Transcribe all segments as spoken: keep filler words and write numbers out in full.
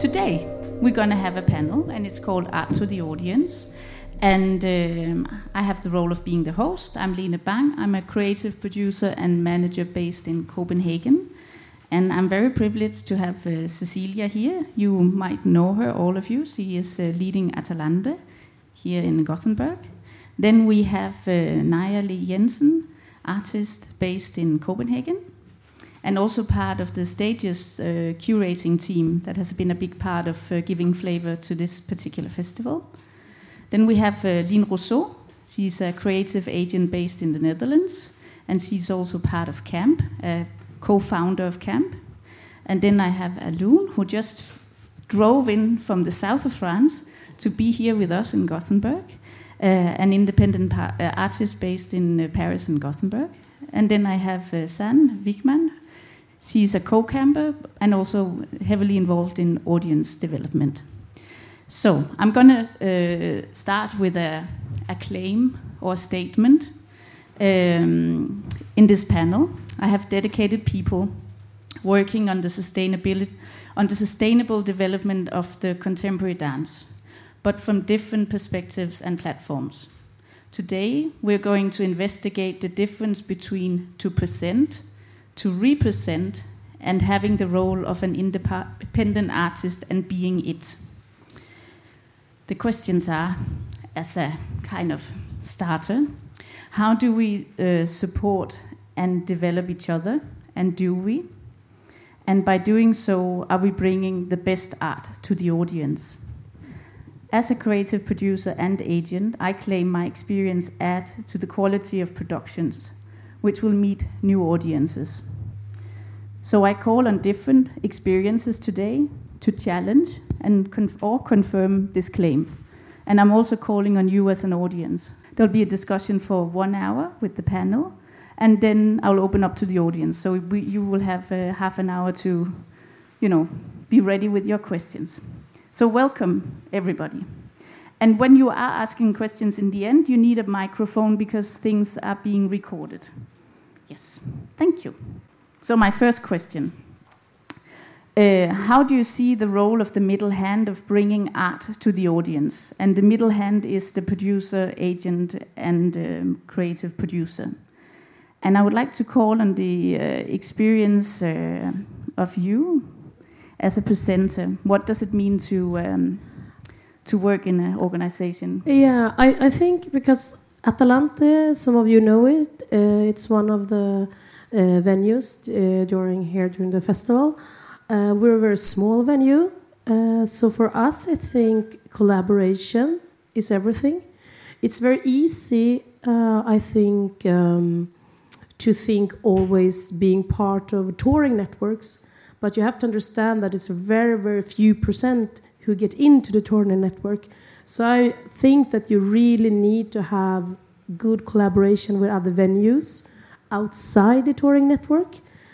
today we're going to have a panel, and it's called Art to the Audience. And um, I have the role of being the host. I'm Lene Bang. I'm a creative producer and manager based in Copenhagen. And I'm very privileged to have uh, Cecilia here. You might know her, all of you. She is uh, leading Atalante here in Gothenburg. Then we have uh, Naja Lee Jensen, artist based in Copenhagen, and also part of the Stages uh, curating team that has been a big part of uh, giving flavor to this particular festival. Then we have uh, Line Rousseau. She's a creative agent based in the Netherlands, and she's also part of CAMP, a co-founder of CAMP. And then I have Alun, who just f- drove in from the south of France to be here with us in Gothenburg, uh, an independent par- uh, artist based in uh, Paris and Gothenburg. And then I have uh, San Wigman. She's a co-camper and also heavily involved in audience development. So I'm going to uh, start with a, a claim or a statement. Um, in this panel, I have dedicated people working on the sustainability, on the sustainable development of the contemporary dance, but from different perspectives and platforms. Today, we're going to investigate the difference between to present, to represent, and having the role of an independent artist and being it. The questions are, as a kind of starter, how do we uh, support and develop each other, and do we? And by doing so, are we bringing the best art to the audience? As a creative producer and agent, I claim my experience add to the quality of productions, which will meet new audiences. So I call on different experiences today to challenge and conf- or confirm this claim. And I'm also calling on you as an audience. There'll be a discussion for one hour with the panel, and then I'll open up to the audience. So we, you will have uh, half an hour to, you know, be ready with your questions. So welcome, everybody. And when you are asking questions in the end, you need a microphone because things are being recorded. Yes, thank you. So my first question. Uh, how do you see the role of the middle hand of bringing art to the audience? And the middle hand is the producer, agent, and um, creative producer. And I would like to call on the uh, experience uh, of you as a presenter. What does it mean to um, to work in an organization? Yeah, I, I think because Atalante, some of you know it, uh, it's one of the uh, venues uh, during here during the festival. Uh, we're a very small venue, uh, so for us, I think collaboration is everything. It's very easy, uh, I think, um, to think always being part of touring networks, but you have to understand that it's very, very few percent who get into the touring network. So I think that you really need to have good collaboration with other venues outside the touring network.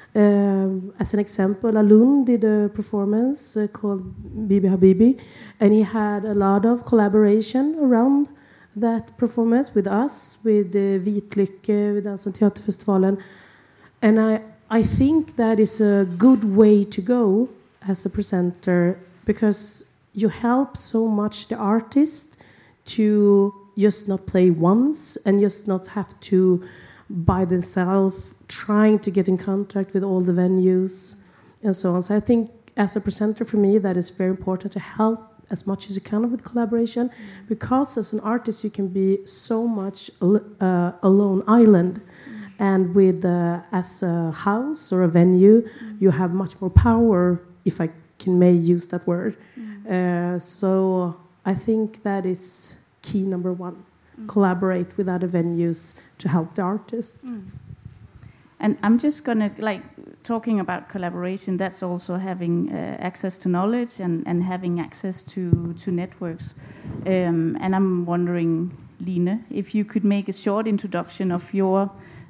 Um, as an example, Alun did a performance uh, called Bibi Habibi, and he had a lot of collaboration around that performance with us, with uh, Vitlycke, with Dans- och Teaterfestivalen. And I, I think that is a good way to go as a presenter, because you help so much the artist to just not play once and just not have to by themselves trying to get in contact with all the venues and so on. So I think as a presenter for me that is very important to help as much as you can with collaboration, mm. because as an artist you can be so much uh, a lone island, mm. and with uh, as a house or a venue mm. you have much more power, if I can may use that word. Mm. Uh, so I think that is key number one. Mm. Collaborate with other venues to help the artists. Mm. And I'm just going to, like, talking about collaboration, that's also having uh, access to knowledge and, and having access to, to networks. Um, and I'm wondering, Line, if you could make a short introduction of your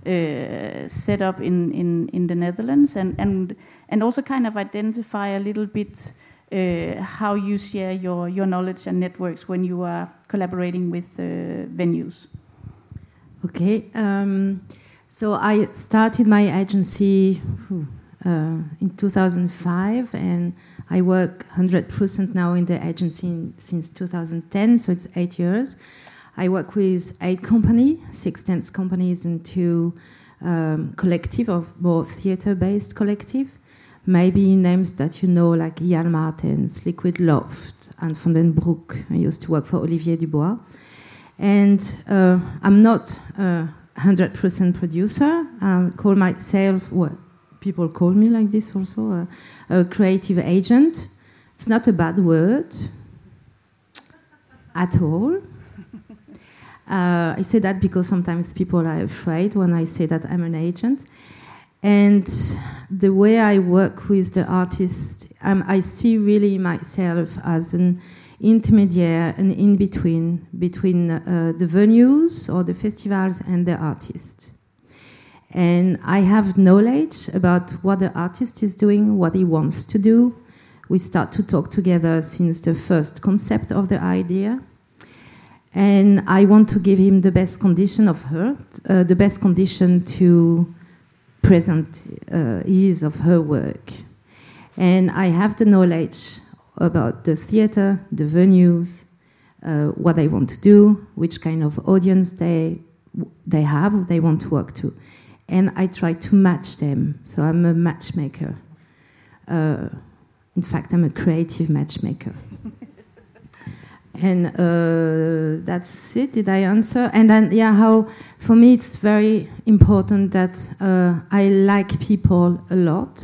uh, setup in, in, in the Netherlands, and, and, and also kind of identify a little bit uh, how you share your, your knowledge and networks when you are collaborating with uh, venues. Okay. Um, So I started my agency uh, in two thousand five, and I work one hundred percent now in the agency in, since two thousand ten, so it's eight years. I work with eight companies, six dance companies, and two um, collective of more theater-based collective. Maybe names that you know, like Jan Martens, Liquid Loft, and Van den Broek. I used to work for Olivier Dubois. And uh, I'm not a one hundred percent producer. I call myself, well, people call me like this also, a, a creative agent. It's not a bad word at all. Uh, I say that because sometimes people are afraid when I say that I'm an agent. And the way I work with the artist, um, I see really myself as an intermediary, an in-between, between uh, the venues or the festivals and the artist. And I have knowledge about what the artist is doing, what he wants to do. We start to talk together since the first concept of the idea. And I want to give him the best condition of her, uh, the best condition to present uh, his of her work. And I have the knowledge about the theater, the venues, uh, what they want to do, which kind of audience they they have, they want to work to. And I try to match them. So I'm a matchmaker. Uh, in fact, I'm a creative matchmaker. And uh, that's it. Did I answer? And then, yeah, how for me it's very important that uh, I like people a lot.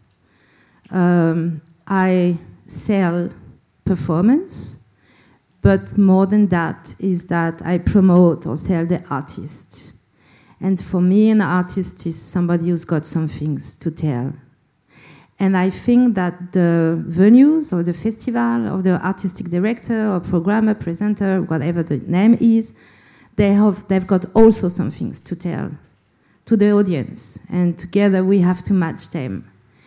Um, I sell performance, but more than that is that I promote or sell the artist. And for me, an artist is somebody who's got some things to tell. And I think that the venues or the festival or the artistic director or programmer, presenter, whatever the name is, they have, they've got also some things to tell to the audience. And together we have to match them.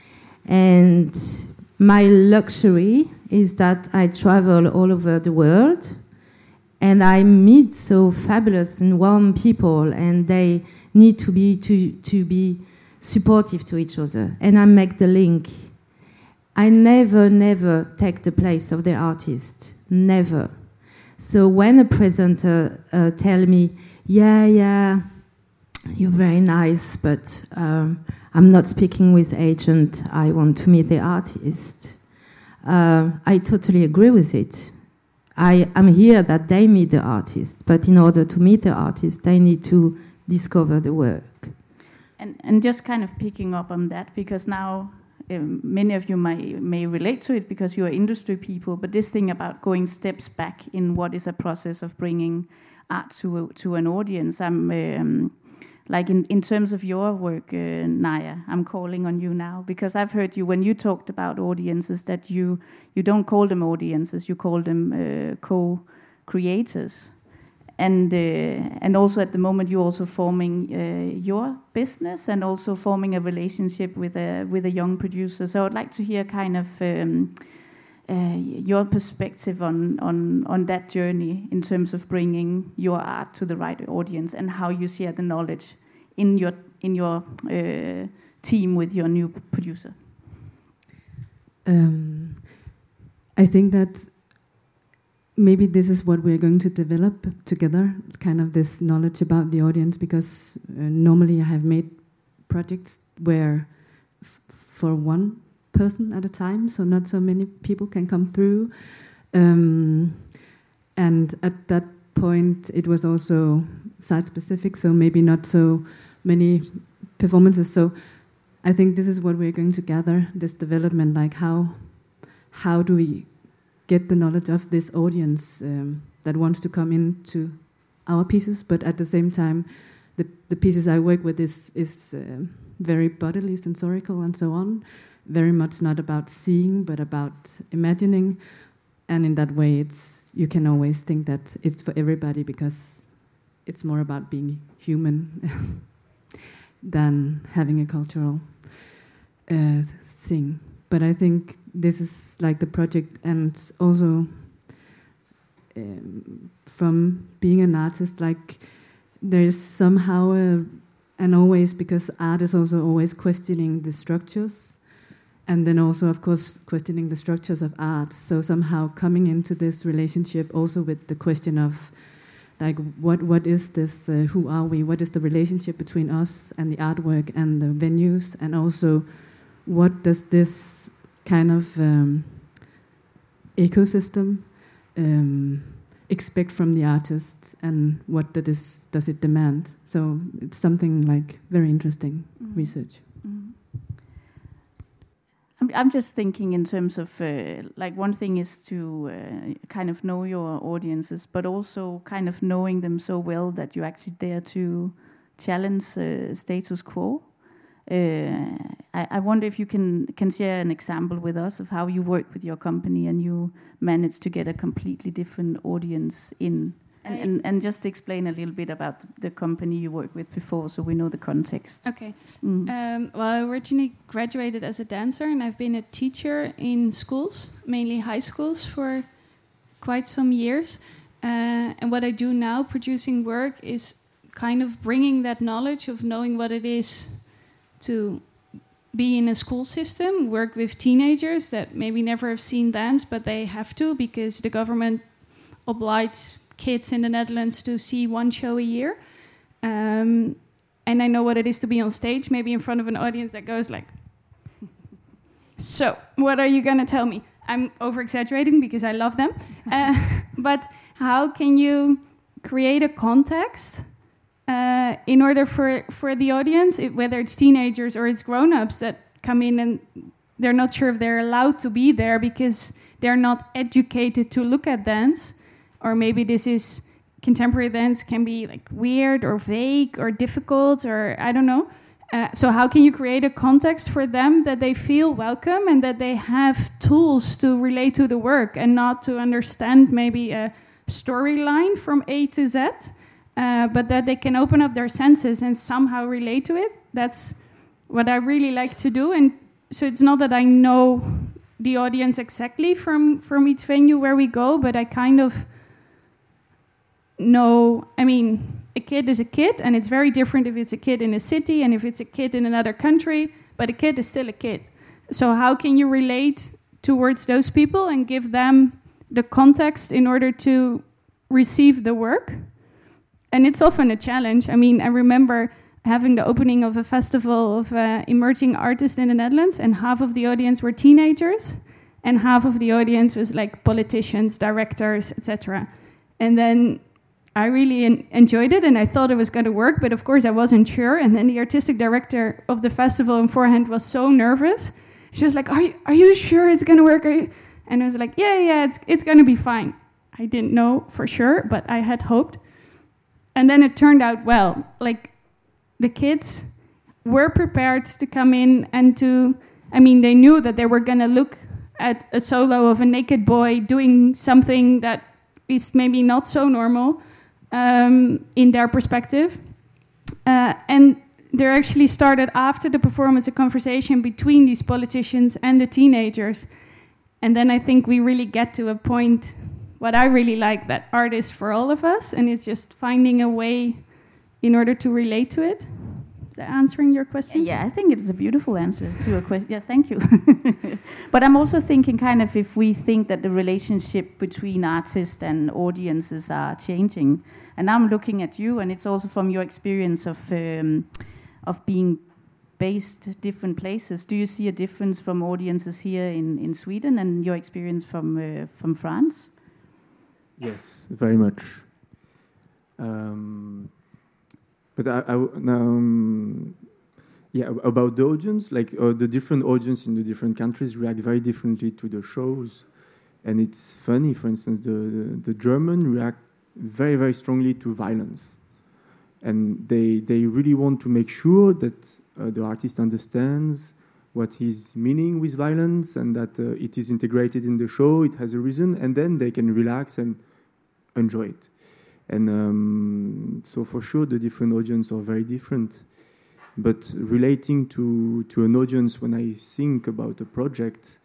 And my luxury is that I travel all over the world and I meet so fabulous and warm people, and they need to be to, to be supportive to each other, and I make the link. I never, never take the place of the artist, never. So when a presenter uh, tell me, yeah, yeah, you're very nice, but um, I'm not speaking with agent, I want to meet the artist. Uh, I totally agree with it. I am here that they meet the artist, but in order to meet the artist, they need to discover the work. And, and just kind of picking up on that, because now um, many of you may, may relate to it because you are industry people, but this thing about going steps back in what is a process of bringing art to a, to an audience. I'm um, like in, in terms of your work, uh, Naya, I'm calling on you now, because I've heard you when you talked about audiences that you, you don't call them audiences, you call them uh, co-creators. And uh, and also at the moment you're also forming uh, your business and also forming a relationship with a with a young producer. So I'd like to hear kind of um, uh, your perspective on on on that journey in terms of bringing your art to the right audience and how you share the knowledge in your in your uh, team with your new producer. Um, I think that. Maybe this is what we're going to develop together, kind of this knowledge about the audience, because uh, normally I have made projects where f- for one person at a time, so not so many people can come through. Um, and at that point, it was also site-specific, so maybe not so many performances. So I think this is what we're going to gather, this development, like how how do we get the knowledge of this audience um, that wants to come into our pieces, but at the same time, the, the pieces I work with is, is uh, very bodily, sensorical, and so on. Very much not about seeing, but about imagining. And in that way, it's you can always think that it's for everybody because it's more about being human than having a cultural uh, thing. But I think this is like the project, and also um, from being an artist, like there is somehow a, and always, because art is also always questioning the structures and then also, of course, questioning the structures of art. So somehow coming into this relationship also with the question of, like, what what is this? Uh, who are we? What is the relationship between us and the artwork and the venues? And also, what does this kind of um, ecosystem um, expect from the artists, and what that is, does it demand? So it's something like very interesting mm. research. Mm. I'm, I'm just thinking in terms of, uh, like, one thing is to uh, kind of know your audiences, but also kind of knowing them so well that you actually dare to challenge uh, status quo. Uh, I, I wonder if you can, can share an example with us of how you work with your company and you manage to get a completely different audience in. And, and, and just explain a little bit about the, the company you worked with before, so we know the context. Okay. Mm. Um, well, I originally graduated as a dancer, and I've been a teacher in schools, mainly high schools, for quite some years. Uh, and what I do now, producing work, is kind of bringing that knowledge of knowing what it is to be in a school system, work with teenagers that maybe never have seen dance, but they have to because the government obliges kids in the Netherlands to see one show a year. Um, and I know what it is to be on stage, maybe in front of an audience that goes like, so, what are you going to tell me? I'm over-exaggerating because I love them. Uh, but how can you create a context uh, in order for, for the audience, it, whether it's teenagers or it's grown-ups that come in and they're not sure if they're allowed to be there because they're not educated to look at dance, or maybe this is contemporary dance can be like weird or vague or difficult, or I don't know. Uh, so how can you create a context for them that they feel welcome and that they have tools to relate to the work and not to understand maybe a storyline from A to Z, uh, but that they can open up their senses and somehow relate to it? That's what I really like to do. And so it's not that I know the audience exactly from, from each venue where we go, but I kind of know, I mean, a kid is a kid, and it's very different if it's a kid in a city and if it's a kid in another country, but a kid is still a kid. So how can you relate towards those people and give them the context in order to receive the work? And it's often a challenge. I mean, I remember having the opening of a festival of uh, emerging artists in the Netherlands, and half of the audience were teenagers, and half of the audience was like politicians, directors, et cetera. And then I really en- enjoyed it, and I thought it was going to work, but of course I wasn't sure. And then the artistic director of the festival beforehand was so nervous. She was like, "Are you are you sure it's going to work?" Are you? And I was like, "Yeah, yeah, it's it's going to be fine." I didn't know for sure, but I had hoped. And then it turned out well. Like, the kids were prepared to come in and to, I mean, they knew that they were going to look at a solo of a naked boy doing something that is maybe not so normal um, in their perspective. Uh, and there actually started after the performance a conversation between these politicians and the teenagers. And then I think we really get to a point, what I really like, that art is for all of us, and it's just finding a way in order to relate to it. Is that answering your question? Yeah, I think it's a beautiful answer to your question. Yeah, thank you. But I'm also thinking kind of if we think that the relationship between artists and audiences are changing. And I'm looking at you, and it's also from your experience of um, of being based different places. Do you see a difference from audiences here in, in Sweden and your experience from uh, from France? Yes, very much. Um, but I, I um, yeah, about the audience, like uh, the different audience in the different countries react very differently to the shows, and it's funny. For instance, the the, the German react very very strongly to violence, and they they really want to make sure that uh, the artist understands what he's meaning with violence and that uh, it is integrated in the show. It has a reason, and then they can relax and enjoy it. And um, so for sure the different audiences are very different, but relating to to an audience, when I think about a project,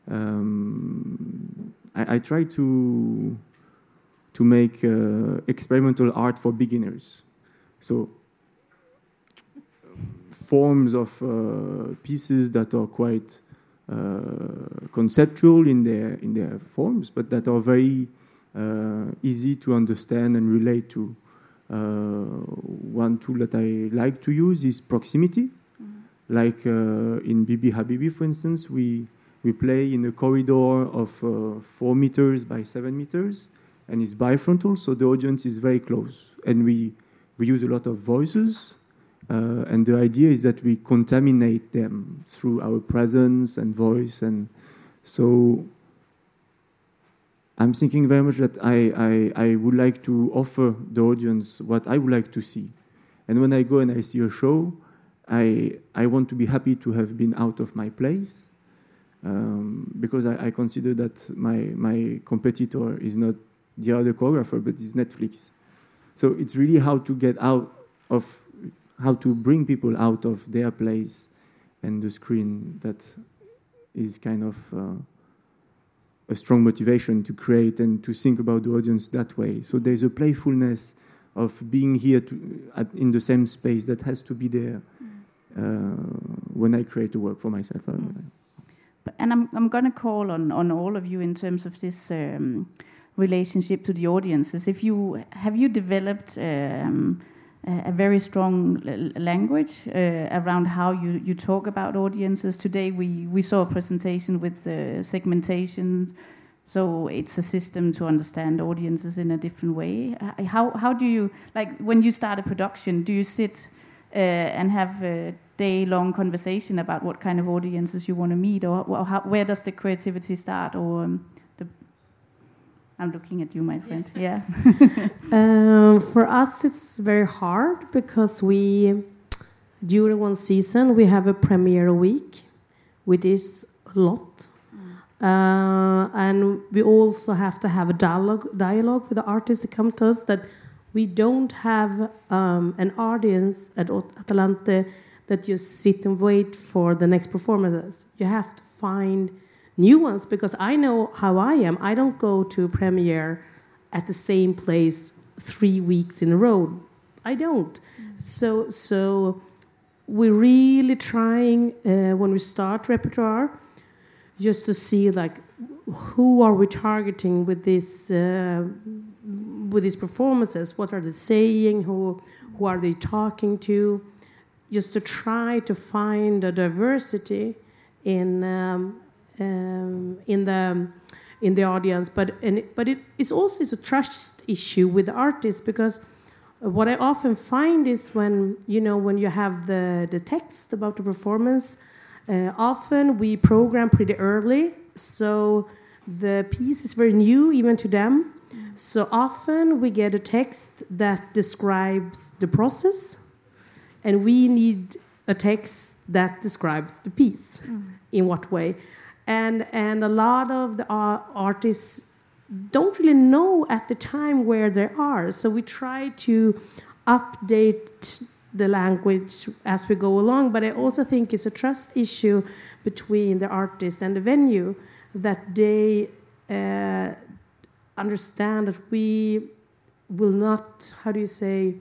um, I, I try to to make uh, experimental art for beginners. So forms of uh, pieces that are quite uh, conceptual in their in their forms, but that are very uh, easy to understand and relate to. Uh, one tool that I like to use is proximity. Mm-hmm. Like uh, in Bibi Habibi, for instance, we we play in a corridor of uh, four meters by seven meters, and it's bifrontal, so the audience is very close. And we we use a lot of voices, uh, and the idea is that we contaminate them through our presence and voice, and so I'm thinking very much that I, I, I would like to offer the audience what I would like to see. And when I go and I see a show, I, I want to be happy to have been out of my place, um, because I, I consider that my, my competitor is not the other choreographer, but is Netflix. So it's really how to get out of, how to bring people out of their place and the screen that is kind of... Uh, a strong motivation to create and to think about the audience that way. So there's a playfulness of being here to, at, in the same space that has to be there uh, when I create a work for myself. Mm. But, and I'm, I'm going to call on, on all of you in terms of this um, relationship to the audiences. If you have you developed um, a, a very strong l- language uh, around how you, you talk about audiences. Today we, we saw a presentation with uh, segmentation, so it's a system to understand audiences in a different way. How how do you, like when you start a production, do you sit uh, and have a day-long conversation about what kind of audiences you want to meet, or, or how, where does the creativity start? Or um, the, I'm looking at you, my friend. Yeah. um, for us, it's very hard because we, during one season, we have a premiere week, which is a lot. Uh, and we also have to have a dialogue, dialogue with the artists that come to us, that we don't have um, an audience at Atalante that just sit and wait for the next performances. You have to find new ones, because I know how I am. I don't go to a premiere at the same place three weeks in a row. I don't. Mm. So, so we're really trying uh, when we start repertoire, just to see like who are we targeting with this uh, with these performances? What are they saying? Who who are they talking to? Just to try to find a diversity in um, um, in the in the audience. But and it, but it it's also it's a trust issue with the artists, because what I often find is when you know when you have the the text about the performance. Uh, often we program pretty early, so the piece is very new even to them. Mm. So often we get a text that describes the process, and we need a text that describes the piece. Mm. In what way. And, and a lot of the uh, artists don't really know at the time where they are, so we try to update the language as we go along, but I also think it's a trust issue between the artist and the venue, that they uh, understand that we will not, how do you say,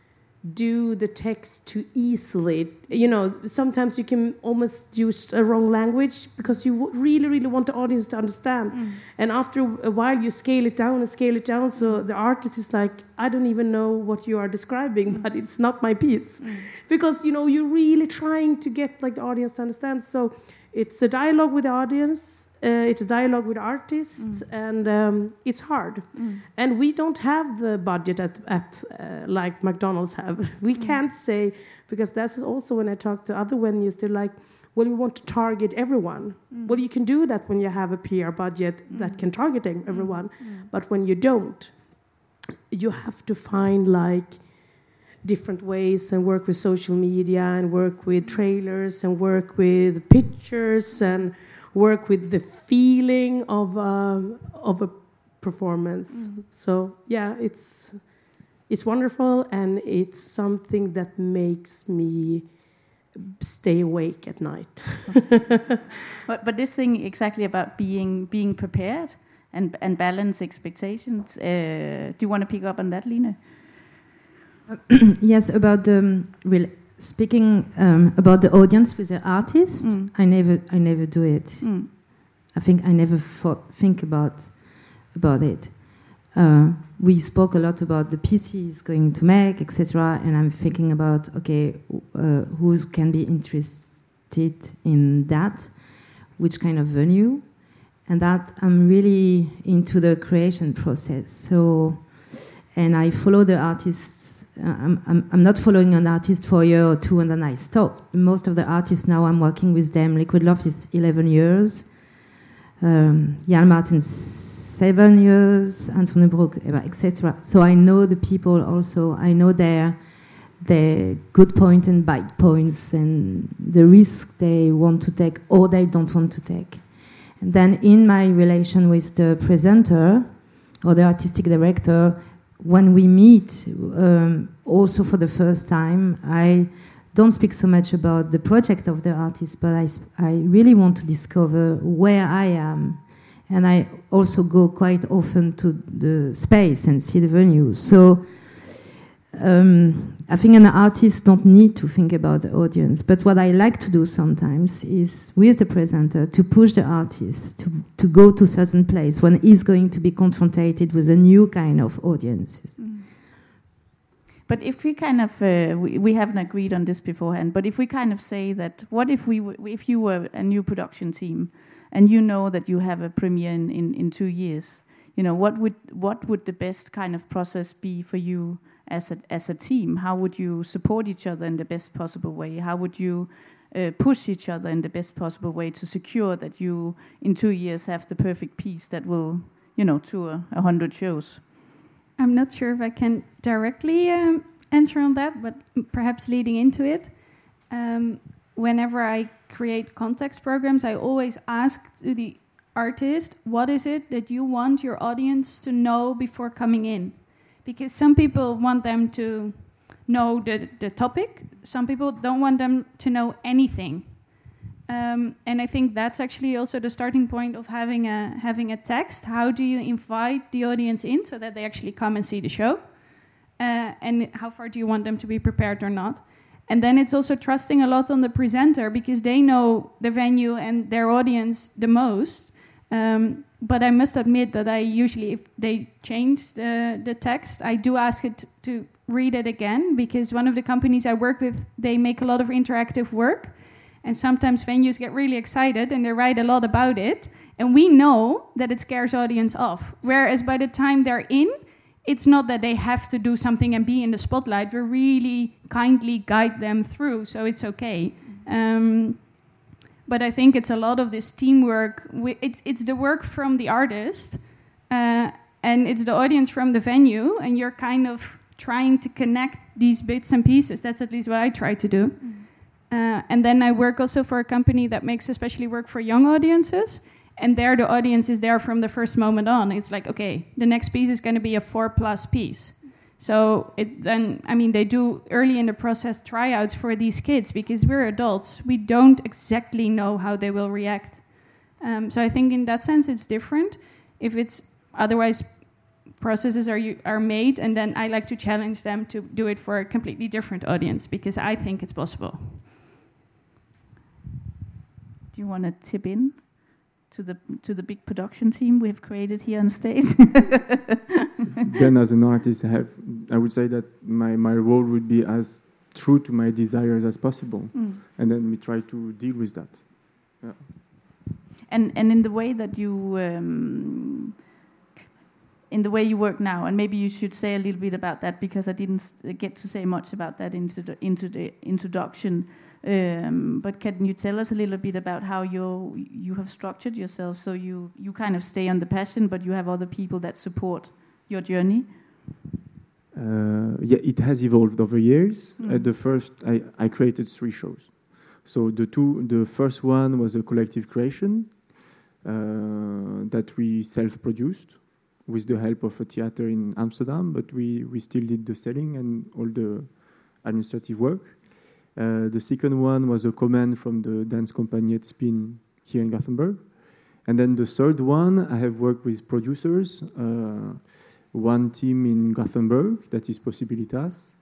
do the text too easily. You know, sometimes you can almost use a wrong language because you really, really want the audience to understand. Mm. And after a while, you scale it down and scale it down. So the artist is like, I don't even know what you are describing, mm. but it's not my piece. Mm. Because, you know, you're really trying to get like the audience to understand. So it's a dialogue with the audience. Uh, it's a dialogue with artists, mm. and um, it's hard. Mm. And we don't have the budget at, at uh, like McDonald's have. We mm. can't say, because that's also when I talk to other venues, they're like, well, we want to target everyone. Mm. Well, you can do that when you have a P R budget mm. that can target everyone. Mm. But when you don't, you have to find like different ways and work with social media and work with trailers and work with pictures and work with the feeling of a, of a performance. Mm. So yeah, it's it's wonderful, and it's something that makes me stay awake at night. but but this thing exactly about being being prepared and and balance expectations. Uh, do you want to pick up on that, Line? Yes, about the um, real speaking um, about the audience with the artist, Mm. I never, I never do it. Mm. I think I never thought, think about about it. Uh, we spoke a lot about the pieces going to make, et cetera. And I'm thinking about okay, uh, who can be interested in that, which kind of venue, and that I'm really into the creation process. So, and I follow the artists. Uh, I'm, I'm I'm not following an artist for a year or two and then I stop. Most of the artists now I'm working with them. Liquid Love is eleven years. Um, Jan Martin seven years, Anthony Brook, et cetera. So I know the people also. I know their their good point and bad points and the risk they want to take or they don't want to take. And then in my relation with the presenter or the artistic director, when we meet, um, also for the first time, I don't speak so much about the project of the artist, but I, I really want to discover where I am. And I also go quite often to the space and see the venues. So um, I think an artist don't need to think about the audience. But what I like to do sometimes is, with the presenter, to push the artist to, to go to a certain place when he's going to be confronted with a new kind of audience. Mm. But if we kind of, uh, we, we haven't agreed on this beforehand, but if we kind of say that, what if we, w- if you were a new production team, and you know that you have a premiere in, in, in two years, you know, what would what would the best kind of process be for you as a as a team? How would you support each other in the best possible way? How would you uh, push each other in the best possible way to secure that you in two years have the perfect piece that will, you know, tour a hundred shows? I'm not sure if I can directly um, answer on that, but perhaps leading into it. Um, whenever I create context programs, I always ask to the artist, what is it that you want your audience to know before coming in? Because some people want them to know the, the topic. Some people don't want them to know anything. Um, and I think that's actually also the starting point of having a having a text. How do you invite the audience in so that they actually come and see the show? Uh, and how far do you want them to be prepared or not? And then it's also trusting a lot on the presenter because they know the venue and their audience the most. Um, but I must admit that I usually, if they change the, the text, I do ask it to read it again, because one of the companies I work with, they make a lot of interactive work. And sometimes venues get really excited and they write a lot about it. And we know that it scares audience off. Whereas by the time they're in, it's not that they have to do something and be in the spotlight. We really kindly guide them through, so it's okay. Um, but I think it's a lot of this teamwork. We, it's, it's the work from the artist, uh, and it's the audience from the venue, and you're kind of trying to connect these bits and pieces. That's at least what I try to do. Mm. Uh, and then I work also for a company that makes especially work for young audiences. And there the audience is there from the first moment on. It's like, okay, the next piece is going to be a four plus piece. So it then, I mean, they do early in the process tryouts for these kids because we're adults. We don't exactly know how they will react. Um, so I think in that sense it's different. If it's otherwise processes are are made, and then I like to challenge them to do it for a completely different audience because I think it's possible. Do you want to tip in to the to the big production team we have created here on stage? Then, as an artist, I have I would say that my, my role would be as true to my desires as possible, mm. and then we try to deal with that. Yeah. And and in the way that you um, in the way you work now, and maybe you should say a little bit about that because I didn't get to say much about that into the into the introduction. Um, but can you tell us a little bit about how you you have structured yourself so you, you kind of stay on the passion, but you have other people that support your journey? Uh, yeah, it has evolved over years. Mm. At the first, I, I created three shows. So the two, the first one was a collective creation uh, that we self-produced with the help of a theater in Amsterdam, but we, we still did the selling and all the administrative work. Uh, the second one was a command from the dance company at Spin here in Gothenburg. And then the third one, I have worked with producers, uh, one team in Gothenburg, that is Possibilitas,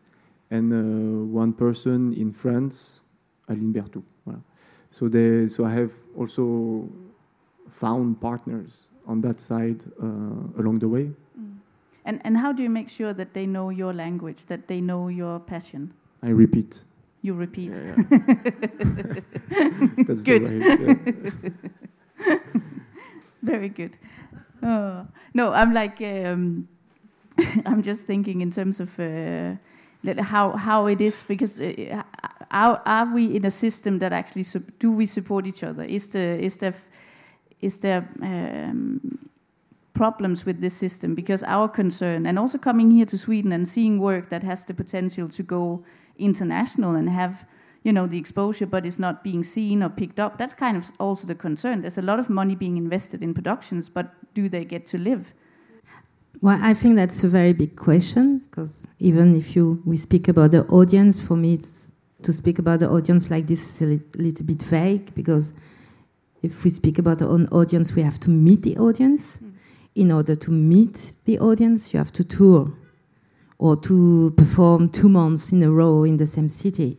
and uh, one person in France, Aline Berthoud. Voilà. So, they, so I have also found partners on that side uh, along the way. Mm. And, and how do you make sure that they know your language, that they know your passion? I repeat. You repeat. Yeah, yeah. That's good. The way, yeah. Very good. Oh. No, I'm like, um, I'm just thinking in terms of uh, how how it is, because uh, are, are we in a system that actually su- do we support each other? Is the is there is there um, problems with this system? Because our concern, and also coming here to Sweden and seeing work that has the potential to go international and have, you know, the exposure, but it's not being seen or picked up. That's kind of also the concern. There's a lot of money being invested in productions, but do they get to live? Well, I think that's a very big question, because even if you we speak about the audience, for me, it's to speak about the audience like this is a li- little bit vague, because if we speak about our own audience, we have to meet the audience. Mm. In order to meet the audience, you have to tour or to perform two months in a row in the same city.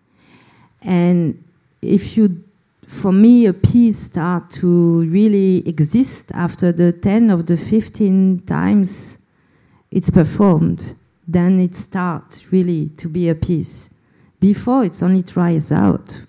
And if you, for me, a piece start to really exist after the ten or the fifteen times it's performed, then it starts really to be a piece. Before, it's only tries out.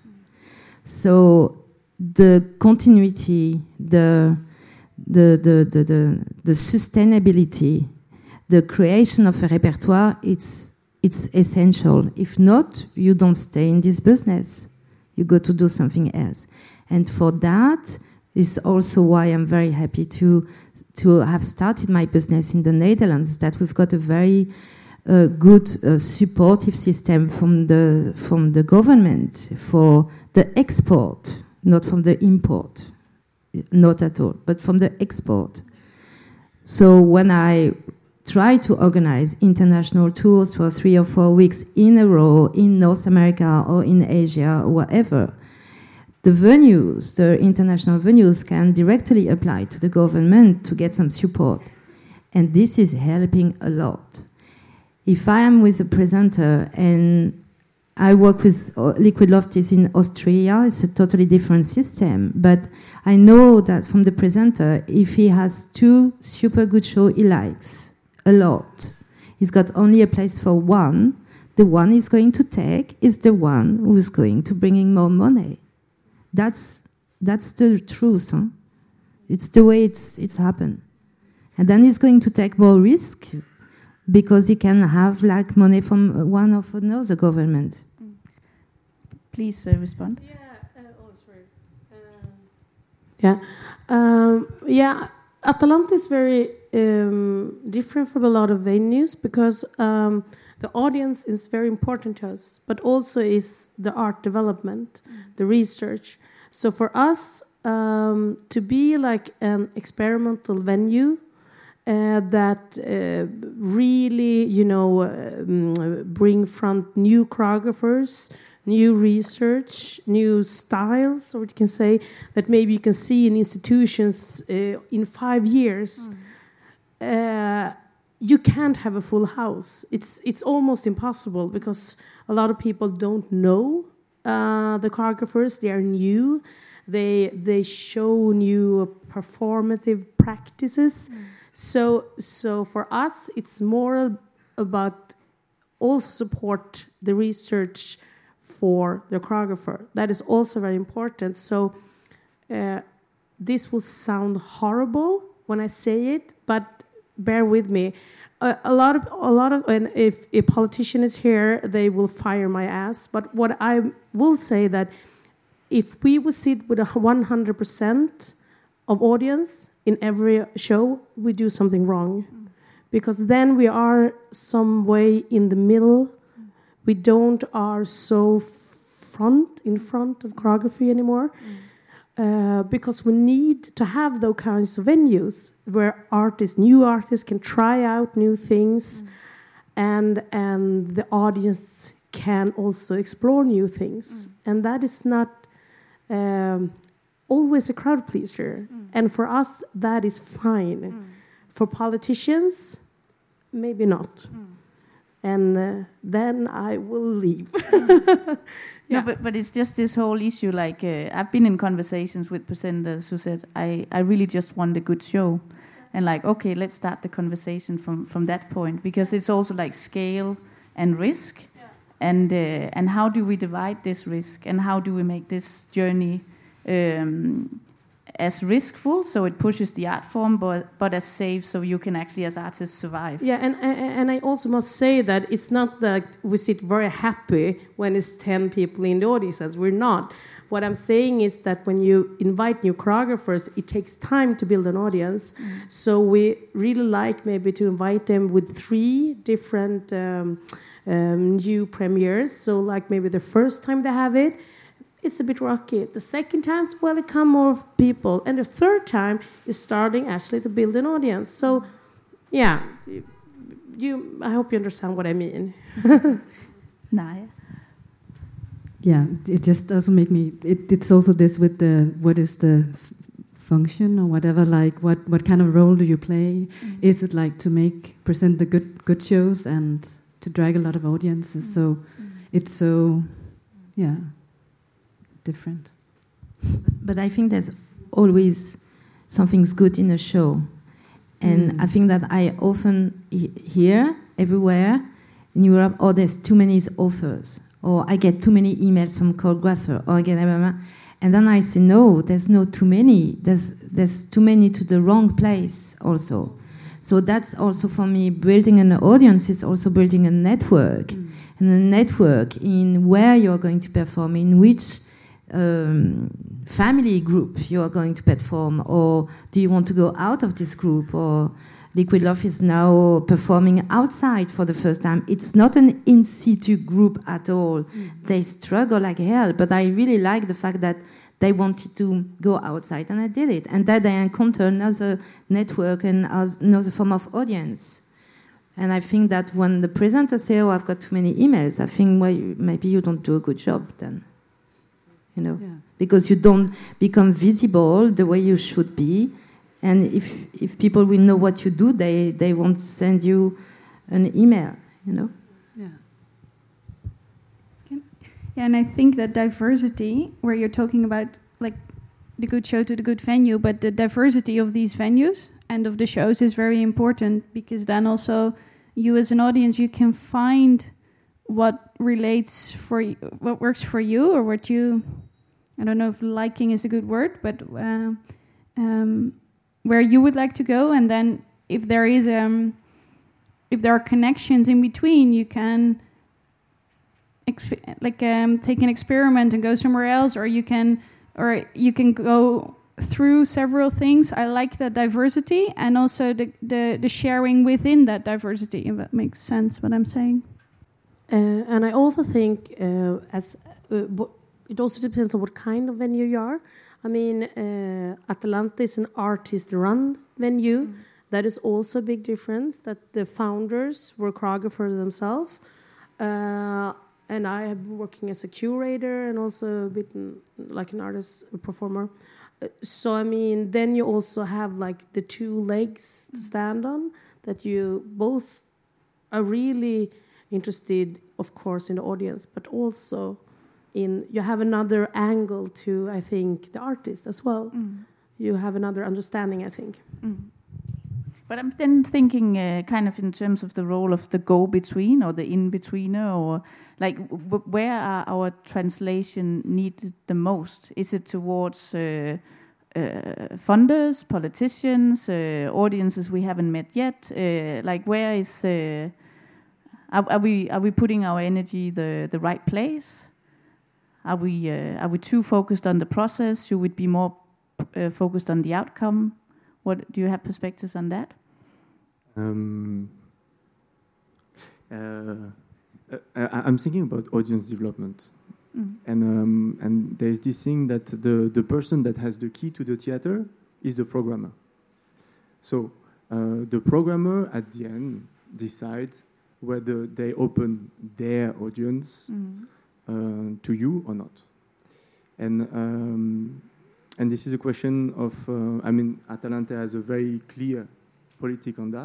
So the continuity, the the the the the, the sustainability, the creation of a repertoire, it's it's essential. If not, you don't stay in this business. You go to do something else. And for that is also why I'm very happy to to have started my business in the Netherlands, that we've got a very uh, good uh, supportive system from the from the government for the export, not from the import, not at all, but from the export. So when I try to organize international tours for three or four weeks in a row in North America or in Asia or whatever, the venues, the international venues, can directly apply to the government to get some support. And this is helping a lot. If I am with a presenter and I work with Liquid Lofties in Austria, it's a totally different system. But I know that from the presenter, if he has two super good shows he likes a lot, he's got only a place for one, the one he's going to take is the one who's going to bring in more money. That's that's the truth. Huh? It's the way it's it's happened. And then he's going to take more risk because he can have like money from one of another government. Mm. Please uh, respond. Yeah. Uh, oh, sorry. Um, yeah. Um, yeah. Atalanta is very um, different from a lot of venues because um, the audience is very important to us, but also is the art development, mm. the research. So for us um, to be like an experimental venue uh, that uh, really, you know, um, bring front new choreographers, new research, new styles, or you can say that maybe you can see in institutions uh, in five years. Mm. Uh, you can't have a full house. It's it's almost impossible because a lot of people don't know uh, the choreographers. They are new. They they show new performative practices. Mm. So so for us, it's more about also support the research for the choreographer. That is also very important. So uh, this will sound horrible when I say it, but bear with me. Uh, a lot of a lot of, and if a politician is here, they will fire my ass. But what I will say that if we would sit with a one hundred percent of audience in every show, we do something wrong, mm. because then we are some way in the middle. Mm. We don't are so front in front of choreography anymore. Mm. Uh, because we need to have those kinds of venues where artists, new artists, can try out new things, mm. and and the audience can also explore new things. Mm. And that is not um, always a crowd pleaser. Mm. And for us, that is fine. Mm. For politicians, maybe not. Mm. and uh, then I will leave. No, but but it's just this whole issue. Like uh, I've been in conversations with presenters who said, "I I really just want a good show," and like, okay, let's start the conversation from from that point, because it's also like scale and risk, yeah. and uh, and how do we divide this risk, and how do we make this journey um, as riskful so it pushes the art form, but but as safe so you can actually as artists survive. Yeah, and and I also must say that it's not that we sit very happy when it's ten people in the audience. We're not. What I'm saying is that when you invite new choreographers, it takes time to build an audience. Mm. So we really like maybe to invite them with three different um, um, new premieres. So like maybe the first time they have it, it's a bit rocky. The second time, welcome more people. And the third time is starting actually to build an audience. So, yeah, you. I hope you understand what I mean. Nah. Yeah, it just doesn't make me. It, it's also this with the what is the f- function or whatever. Like what, what kind of role do you play? Mm-hmm. Is it like to make present the good good shows and to drag a lot of audiences? Mm-hmm. So it's so, yeah. Different. But I think there's always something's good in a show. And mm. I think that I often he- hear everywhere in Europe, oh, there's too many offers, or I get too many emails from choreographer, or I get, and then I say, no, there's no too many. There's there's too many to the wrong place also. So that's also for me, building an audience is also building a network, mm. and a network in where you're going to perform, in which Um, family group you are going to perform, or do you want to go out of this group? Or Liquid Love is now performing outside for the first time. It's not an in situ group at all. Mm. They struggle like hell, but I really like the fact that they wanted to go outside, and I did it, and that I encountered another network and another form of audience. And I think that when the presenters say, oh, I've got too many emails, I think, well, maybe you don't do a good job then. You know, yeah. Because you don't become visible the way you should be, and if if people will know what you do, they they won't send you an email. You know. Yeah. Yeah, and I think that diversity, where you're talking about like the good show to the good venue, but the diversity of these venues and of the shows is very important, because then also you as an audience, you can find what relates for you, what works for you, or what you, I don't know if liking is a good word, but uh, um, where you would like to go, and then if there is um, if there are connections in between, you can ex- like um, take an experiment and go somewhere else, or you can or you can go through several things. I like that diversity, and also the the, the sharing within that diversity, if that makes sense what I'm saying. Uh, and I also think uh, as uh, w- it also depends on what kind of venue you are. I mean, uh, Atalanta is an artist-run venue. Mm. That is also a big difference, that the founders were choreographers themselves. Uh, and I have been working as a curator and also a bit like an artist, a performer. Uh, so, I mean, then you also have like the two legs to stand on, that you both are really interested, of course, in the audience, but also in you have another angle to, I think, the artist as well. Mm. You have another understanding, I think. Mm. But I'm then thinking uh, kind of in terms of the role of the go-between or the in-betweener, or like w- where are our translation needed the most? Is it towards uh, uh, funders, politicians, uh, audiences we haven't met yet? Uh, like where is... Uh, Are, are we are we putting our energy the, the right place? Are we uh, are we too focused on the process? Should we be more uh, focused on the outcome? What do you have perspectives on that? Um, uh, I, I'm thinking about audience development, mm. and um, and there's this thing that the the person that has the key to the theater is the programmer. So uh, the programmer at the end decides whether they open their audience mm. uh, to you or not. And um, and this is a question of, uh, I mean, Atalanta has a very clear politic on that.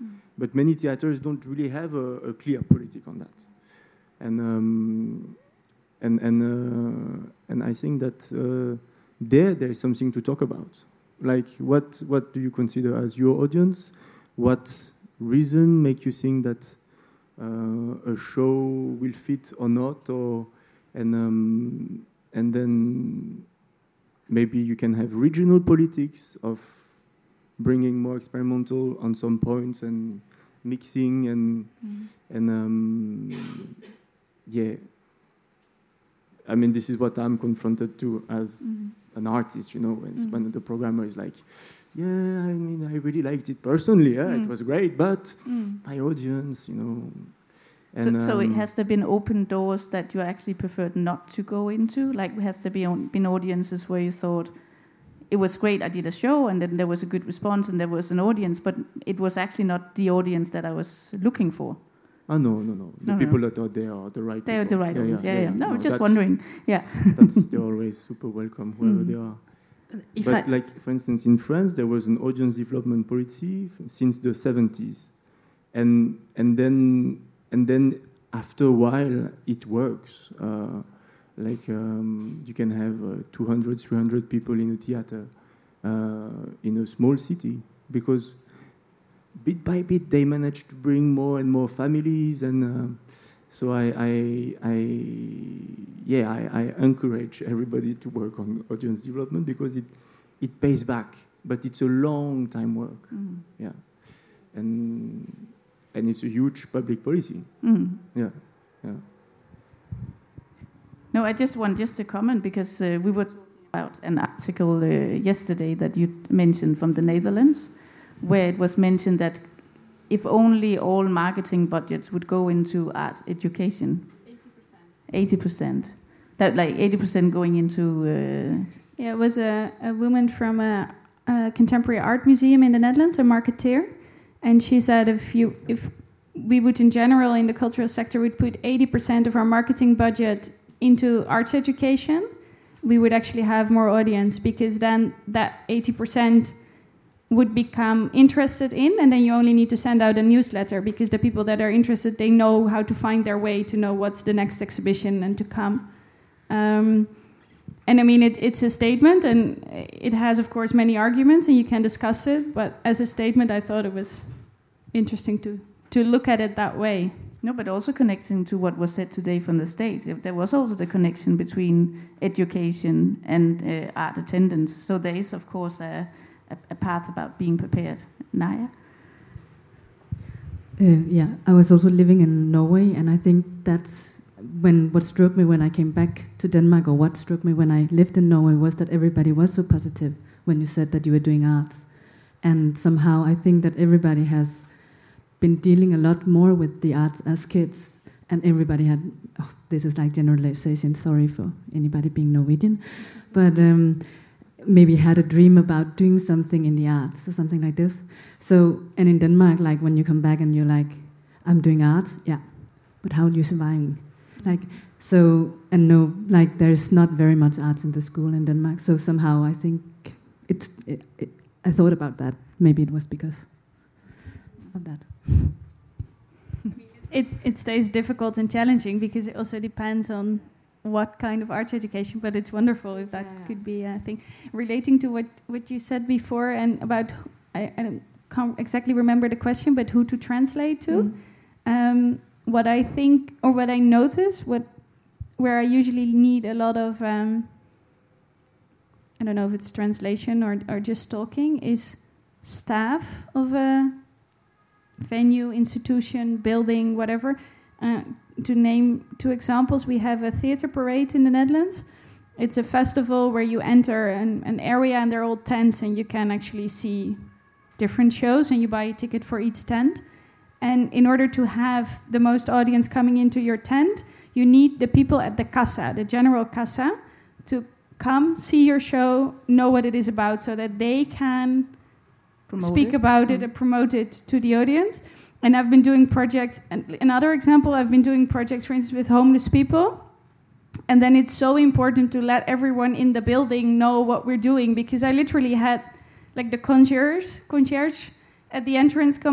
Mm. But many theaters don't really have a, a clear politic on that. And um, and and uh, and I think that uh, there there is something to talk about. Like, what what do you consider as your audience? What reason make you think that uh, a show will fit or not? Or and um, and then maybe you can have regional politics of bringing more experimental on some points and mixing and mm. and um, yeah. I mean, this is what I'm confronted to as mm. an artist, you know, when, mm. when the programmer is like, yeah, I mean, I really liked it personally, yeah, mm. it was great, but mm. my audience, you know. And, so, so um, it has there been open doors that you actually preferred not to go into? Like, has there been, been audiences where you thought, it was great, I did a show, and then there was a good response, and there was an audience, but it was actually not the audience that I was looking for? Oh, no, no, no. The no, people no. that are there are the right They people. are the right yeah, ones, yeah, yeah. yeah. yeah. No, no just that's, wondering, yeah. that's, they're always super welcome, whoever mm. they are. If but I like, for instance, in France, there was an audience development policy since the seventies. And, and, then, and then after a while, it works. Uh, like, um, you can have uh, two hundred, three hundred people in a theater uh, in a small city, because bit by bit, they managed to bring more and more families, and uh, so I, I, I yeah, I, I encourage everybody to work on audience development because it, it pays back, but it's a long time work, mm. yeah, and and it's a huge public policy, mm. yeah, yeah. No, I just want just to comment because uh, we were talking about an article uh, yesterday that you mentioned from the Netherlands, where it was mentioned that if only all marketing budgets would go into art education, eighty percent. eighty percent. That like eighty percent going into... Uh, yeah, it was a, a woman from a, a contemporary art museum in the Netherlands, a marketeer, and she said if you if we would in general in the cultural sector would put eighty percent of our marketing budget into arts education, we would actually have more audience, because then that eighty percent would become interested in, and then you only need to send out a newsletter, because the people that are interested, they know how to find their way to know what's the next exhibition and to come. Um, and I mean, it, it's a statement, and it has, of course, many arguments, and you can discuss it, but as a statement, I thought it was interesting to, to look at it that way. No, but also connecting to what was said today from the state. There was also the connection between education and uh, art attendance. So there is, of course, a, a, a path about being prepared. Naya? Uh, yeah, I was also living in Norway, and I think that's when what struck me when I came back to Denmark, or what struck me when I lived in Norway, was that everybody was so positive when you said that you were doing arts. And somehow I think that everybody has been dealing a lot more with the arts as kids, and everybody had, oh, this is like generalization, sorry for anybody being Norwegian, but um, maybe had a dream about doing something in the arts or something like this. So, and in Denmark, like when you come back and you're like, I'm doing arts, yeah, but how are you surviving? Like, so, and no, like there's not very much arts in the school in Denmark, so somehow I think it's, it, it, I thought about that, maybe it was because of that. It it stays difficult and challenging because it also depends on what kind of art education, but it's wonderful if that yeah. could be a thing. Relating to what, what you said before and about, I, I can't exactly remember the question, but who to translate to. Mm. Um, what I think, or what I notice, what where I usually need a lot of, um, I don't know if it's translation or, or just talking, is staff of a venue, institution, building, whatever. Uh, to name two examples, we have a theatre parade in the Netherlands. It's a festival where you enter an, an area and they're all tents and you can actually see different shows and you buy a ticket for each tent. And in order to have the most audience coming into your tent, you need the people at the Kassa, the general Kassa, to come, see your show, know what it is about so that they can Promote speak it. about mm. it and promote it to the audience. And I've been doing projects, and another example, I've been doing projects, for instance, with homeless people. And then it's so important to let everyone in the building know what we're doing, because I literally had like the concierge, concierge at the entrance coming like,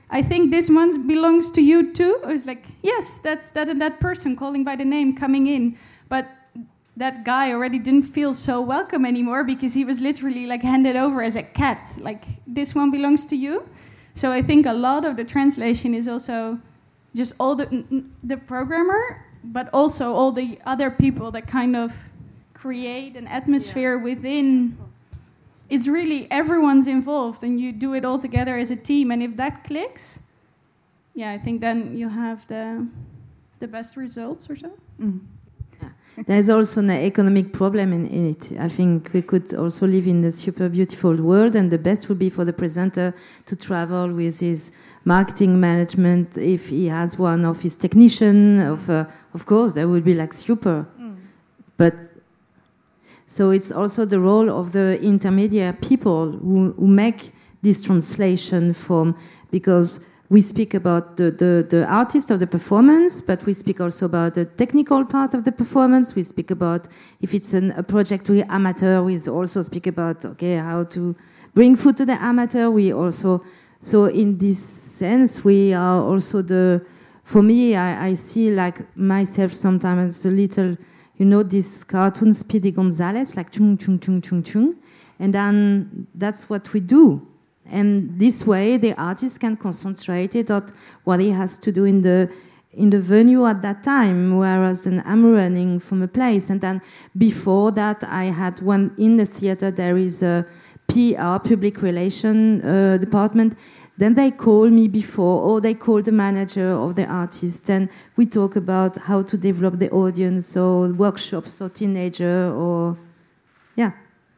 I think this one belongs to you too. I was like, yes, that's that and that person calling by the name coming in. But that guy already didn't feel so welcome anymore because he was literally like handed over as a cat. Like, this one belongs to you. So I think a lot of the translation is also just all the the programmer, but also all the other people that kind of create an atmosphere yeah. within. It's really everyone's involved, and you do it all together as a team. And if that clicks, yeah, I think then you have the the best results or so. Mm. There's also an economic problem in, in it. I think we could also live in a super beautiful world, and the best would be for the presenter to travel with his marketing management. If he has one of his technician, of uh, of course, that would be like super. Mm. But so it's also the role of the intermediate people who, who make this translation from, because we speak about the, the, the artist of the performance, but we speak also about the technical part of the performance. We speak about, if it's an, a project with amateur, we also speak about, okay, how to bring food to the amateur. We also, so in this sense, we are also the, for me, I, I see like myself sometimes a little, you know, this cartoon Speedy Gonzales, like chung, chung, chung, chung, chung. And then that's what we do. And this way, the artist can concentrate it on what he has to do in the in the venue at that time. Whereas then I'm running from a place, and then before that, I had one in the theater. There is a P R, public relation uh, department. Then they call me before, or they call the manager of the artist, and we talk about how to develop the audience, or workshops, or teenager, or yeah.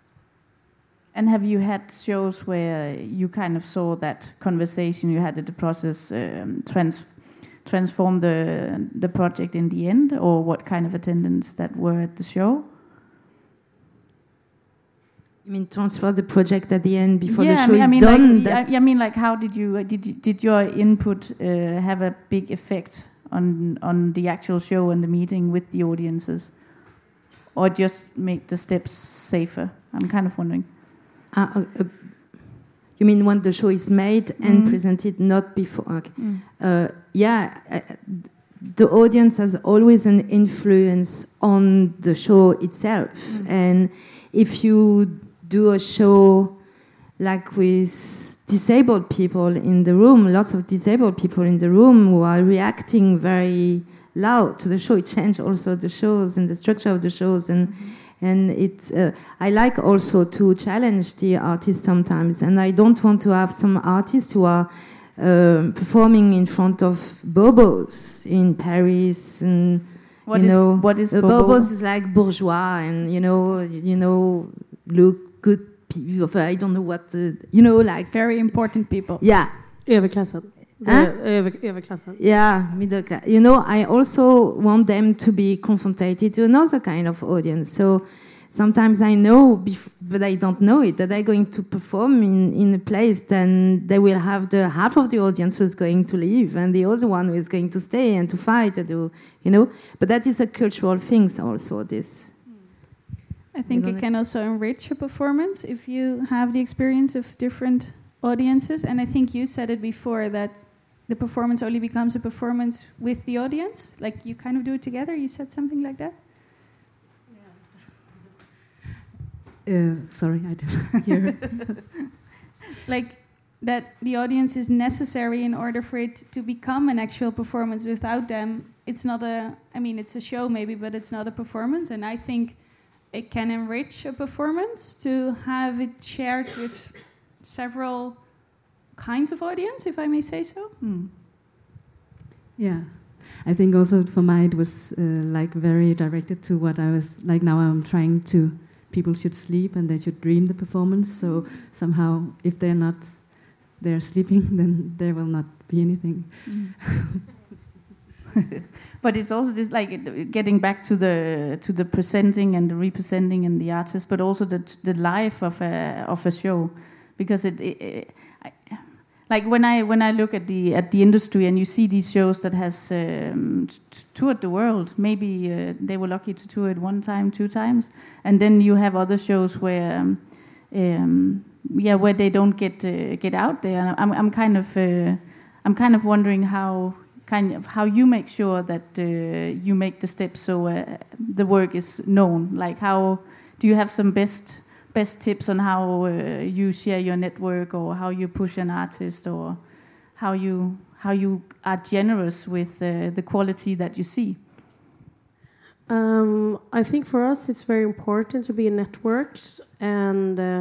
And have you had shows where you kind of saw that conversation you had at the process um, trans- transform the the project in the end, or what kind of attendance that were at the show? You mean transfer the project at the end before yeah, the show I mean, is I done? mean, like, I, I mean, like, how did you did you, did your input uh, have a big effect on on the actual show and the meeting with the audiences, or just make the steps safer? I'm kind of wondering. Uh, uh, uh, you mean when the show is made and mm. presented, not before? Okay. Mm. Uh, yeah, uh, the audience has always an influence on the show itself. Mm. And if you do a show like with disabled people in the room, lots of disabled people in the room who are reacting very loud to the show, it changes also the shows and the structure of the shows. And mm-hmm. And it's, uh, I like also to challenge the artists sometimes. And I don't want to have some artists who are uh, performing in front of bobos in Paris. And, what you is, know, what is uh, bobo? Bobos is like bourgeois and, you know, you know, look good people. I don't know what, the, you know, like. Very important people. Yeah. Överklassen. Huh? Över, överklassen. Yeah, middle class. You know, I also want them to be confronted to another kind of audience. So sometimes I know, bef- but I don't know it, that they're going to perform in, in a place, then they will have the half of the audience who's going to leave and the other one who is going to stay and to fight and do, you know. But that is a cultural thing also, this. I think it can also enrich a performance if you have the experience of different audiences. And I think you said it before, that the performance only becomes a performance with the audience. Like, you kind of do it together. You said something like that? Uh, sorry, I didn't hear. Like, that the audience is necessary in order for it to become an actual performance. Without them, it's not a... I mean, it's a show maybe, but it's not a performance. And I think it can enrich a performance to have it shared with several kinds of audience, if I may say so. Mm. Yeah, I think also for mine it was uh, like very directed to what I was like. Now I'm trying to, people should sleep and they should dream the performance. So somehow, if they're not, they're sleeping, then there will not be anything. Mm. But it's also this, like, getting back to the to the presenting and the representing and the artist, but also the the life of a of a show, because it. it, it I, Like when I when I look at the at the industry and you see these shows that has um, t- toured the world, maybe uh, they were lucky to tour it one time, two times, and then you have other shows where, um, um, yeah, where they don't get uh, get out there. And I'm I'm kind of uh, I'm kind of wondering how kind of how you make sure that uh, you make the steps so uh, the work is known. Like, how do you have some best best tips on how uh, you share your network, or how you push an artist, or how you how you are generous with uh, the quality that you see? Um, I think for us it's very important to be in networks and uh,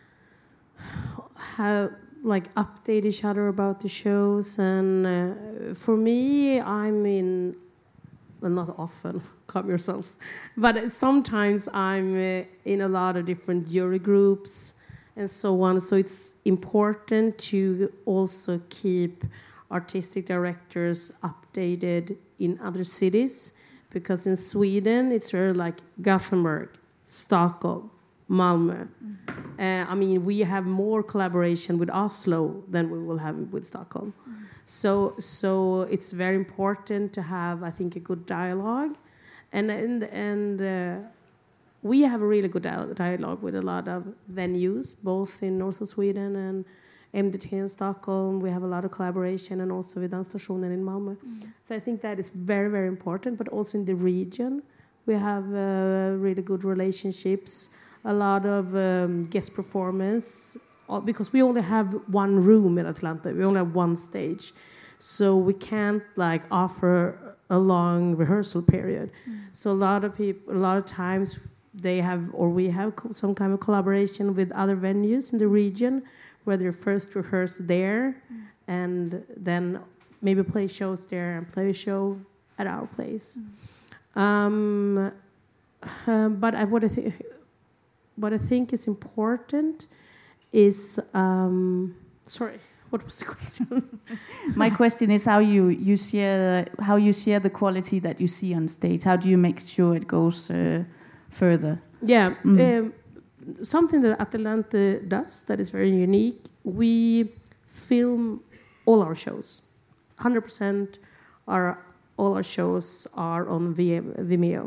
have like update each other about the shows. And uh, for me, I'm in, well, not often, calm yourself, but sometimes I'm uh, in a lot of different jury groups and so on. So it's important to also keep artistic directors updated in other cities, because in Sweden it's really like Gothenburg, Stockholm, Malmö. Mm-hmm. Uh, I mean, we have more collaboration with Oslo than we will have with Stockholm. Mm-hmm. So, so it's very important to have, I think, a good dialogue, and and and uh, we have a really good dialogue with a lot of venues, both in north of Sweden and M D T in Stockholm. We have a lot of collaboration, and also with Dansstationen in Malmö. Mm-hmm. So I think that is very, very important. But also in the region, we have uh, really good relationships. A lot of um, guest performance, because we only have one room in Atlanta. We only have one stage, so we can't like offer a long rehearsal period. Mm. So a lot of people, a lot of times, they have, or we have co- some kind of collaboration with other venues in the region, where they first rehearse there, mm. and then maybe play shows there and play a show at our place. Mm. Um, uh, but I, what I think. What I think is important is, um, sorry, what was the question? My question is how you, you share how you share the quality that you see on stage. How do you make sure it goes uh, further? Yeah, mm. um, something that Atalante does that is very unique. We film all our shows. one hundred percent our all our shows are on Vimeo,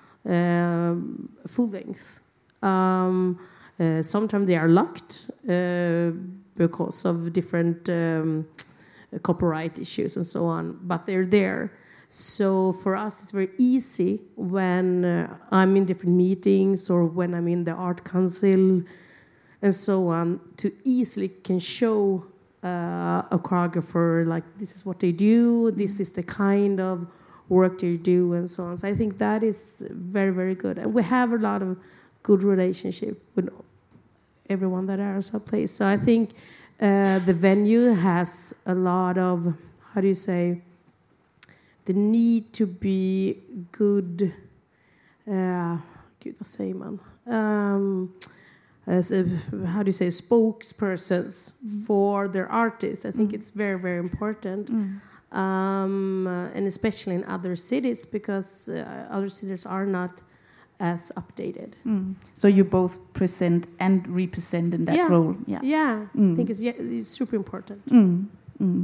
um, full length. Um, uh, sometimes they are locked uh, because of different um, copyright issues and so on, but they're there. So for us, it's very easy when uh, I'm in different meetings or when I'm in the art council and so on, to easily can show uh, a choreographer, like, this is what they do, this is the kind of work they do, and so on. So I think that is very, very good. And we have a lot of good relationship with everyone that is our place. So I think uh, the venue has a lot of, how do you say, the need to be good, uh, gud vad säger man? Um, as a, how do you say, spokespersons mm. for their artists. I think mm. it's very, very important. Mm. Um, uh, and especially in other cities, because uh, other cities are not as updated. Mm. So you both present and represent in that yeah. role. Yeah, yeah. Mm. I think it's, yeah, it's super important. Mm. Mm.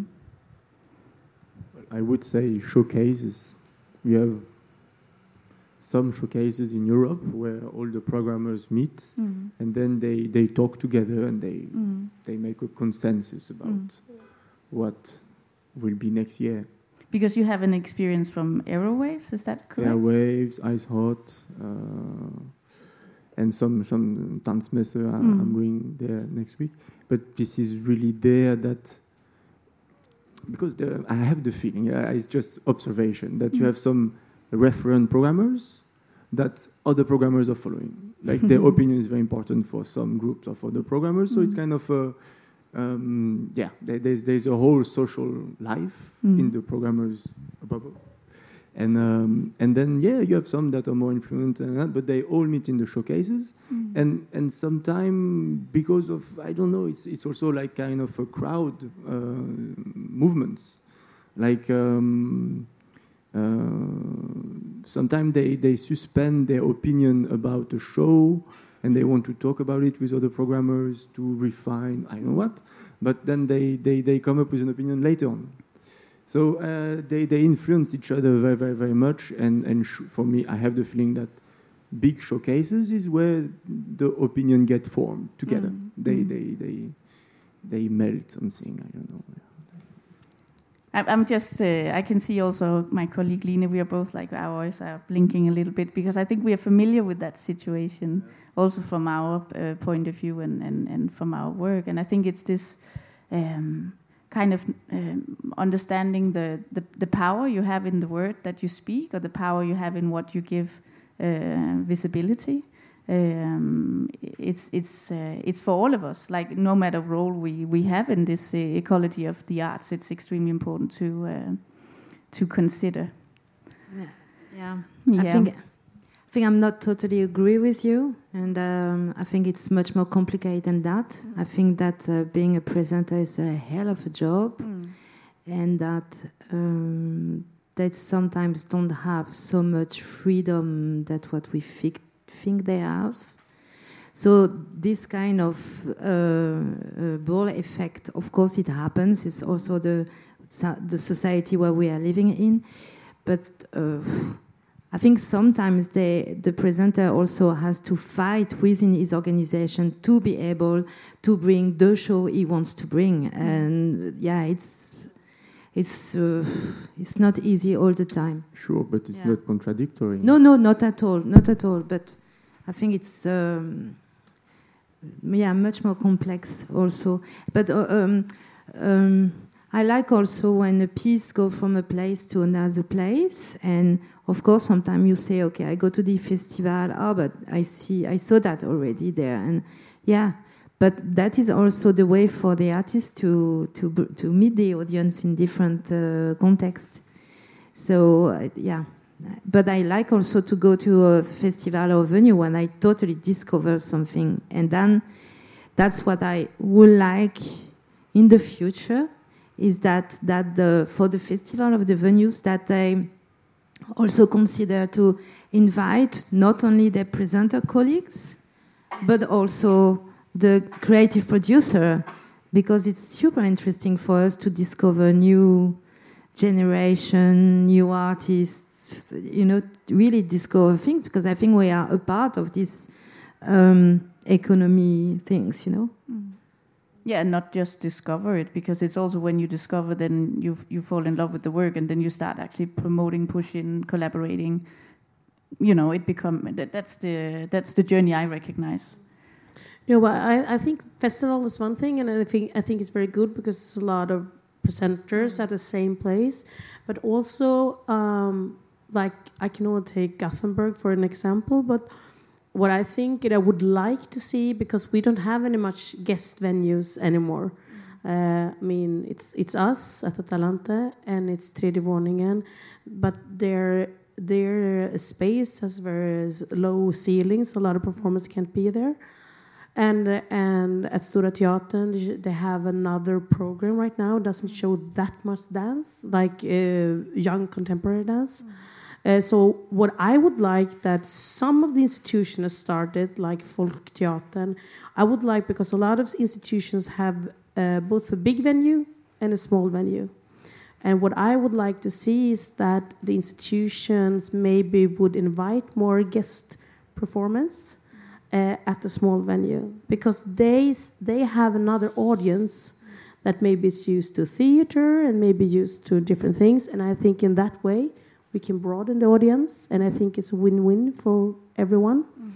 I would say showcases. We have some showcases in Europe where all the programmers meet mm. and then they, they talk together and they mm. they make a consensus about mm. what will be next year. Because you have an experience from Aerowaves, is that correct? Airwaves, Ice Hot, uh, and some some Tanzmesse. Mm. I'm going there next week. But this is really there that, because the, I have the feeling, uh, it's just observation, that mm. you have some referent programmers that other programmers are following. Like their opinion is very important for some groups of other programmers. So mm. it's kind of a, um, yeah, there's there's a whole social life mm. in the programmers bubble. And um, and then yeah, you have some that are more influential than that, but they all meet in the showcases. Mm. And and sometimes because of, I don't know, it's it's also like kind of a crowd uh, movement. Like um, uh, sometimes they, they suspend their opinion about a show and they want to talk about it with other programmers to refine, I don't know what, but then they, they, they come up with an opinion later on. So uh, they, they influence each other very, very, very much. And, and sh- for me, I have the feeling that big showcases is where the opinion get formed together. Mm. They, mm. they, they, they melt something, I don't know. I, I'm just, uh, I can see also my colleague Line, we are both like, our eyes are blinking a little bit, because I think we are familiar with that situation, also from our uh, point of view and, and, and from our work. And I think it's this um, kind of um, understanding the, the, the power you have in the word that you speak, or the power you have in what you give uh, visibility. Um, it's it's uh, it's for all of us. Like, no matter role we, we have in this uh, ecology of the arts, it's extremely important to uh, to consider. Yeah, yeah. Yeah. I think I think I'm not totally agree with you, and um, I think it's much more complicated than that. Mm. I think that uh, being a presenter is a hell of a job, mm. and that um, they sometimes don't have so much freedom that what we think. think they have. So this kind of uh, uh, ball effect, of course it happens. It's also the the society where we are living in. But uh, I think sometimes they, the presenter also has to fight within his organization to be able to bring the show he wants to bring. And yeah, it's It's uh, it's not easy all the time. Sure, but it's yeah. not contradictory. No, no, not at all, not at all. But I think it's um, yeah much more complex also. But uh, um, um, I like also when a piece go from a place to another place, and of course sometimes you say, okay, I go to the festival. Oh, but I see, I saw that already there, and yeah. But that is also the way for the artist to to to meet the audience in different uh, contexts. So uh, yeah, but I like also to go to a festival or venue when I totally discover something, and then that's what I would like in the future. Is that that the for the festival of the venues that they also consider to invite not only their presenter colleagues, but also the creative producer, because it's super interesting for us to discover new generation, new artists, you know, really discover things, because I think we are a part of this um, economy things, you know. Mm. Yeah, and not just discover it, because it's also when you discover, then you you fall in love with the work, and then you start actually promoting, pushing, collaborating. You know, it become that, that's the that's the journey I recognize. No, but I, I think festival is one thing, and I think I think it's very good because it's a lot of presenters at the same place. But also, um, like I can only take Gothenburg for an example. But what I think that I would like to see, because we don't have any much guest venues anymore. Uh, I mean, it's it's us at Atalante and it's Tredje Våningen, but their their space has very low ceilings. A lot of performers can't be there. And and at Stora Teatern, they have another program right now. It doesn't show that much dance, like uh, young contemporary dance. Mm. Uh, so what I would like that some of the institutions started, like Folkteatern, I would like, because a lot of institutions have uh, both a big venue and a small venue. And what I would like to see is that the institutions maybe would invite more guest performance Uh, at the small venue, because they they have another audience that maybe is used to theater and maybe used to different things, and I think in that way we can broaden the audience, and I think it's a win-win for everyone. Mm.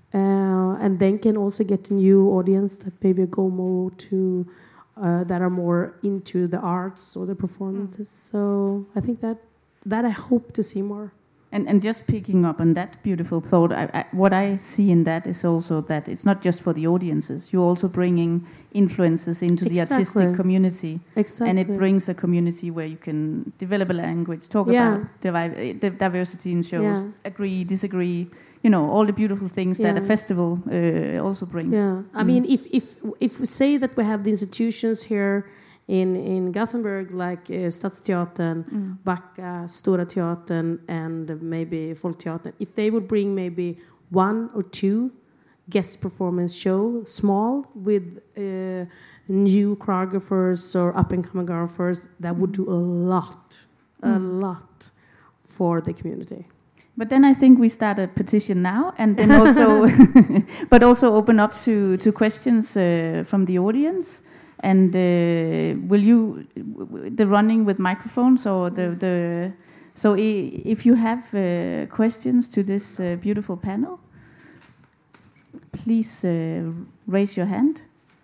Uh, and then can also get a new audience that maybe go more to uh, that are more into the arts or the performances. Mm. So I think that that I hope to see more. And, and just picking up on that beautiful thought, I, I, what I see in that is also that it's not just for the audiences. You're also bringing influences into exactly. the artistic community. Exactly. And it brings a community where you can develop a language, talk yeah. about divi- the diversity in shows, yeah. agree, disagree, you know, all the beautiful things yeah. that a festival uh, also brings. Yeah, I mm. mean, if, if, if we say that we have the institutions here in in Gothenburg, like uh, Stadsteatern, mm. Backa, Stora Teatern, and maybe Folkteatern, if they would bring maybe one or two guest performance show, small, with uh, new choreographers or up-and-coming choreographers, that would do a lot, mm. a lot for the community. But then I think we start a petition now, and then also, but also open up to to questions uh, from the audience. And uh, will you the running with microphones or the the so I, if you have uh, questions to this uh, beautiful panel, please uh, raise your hand.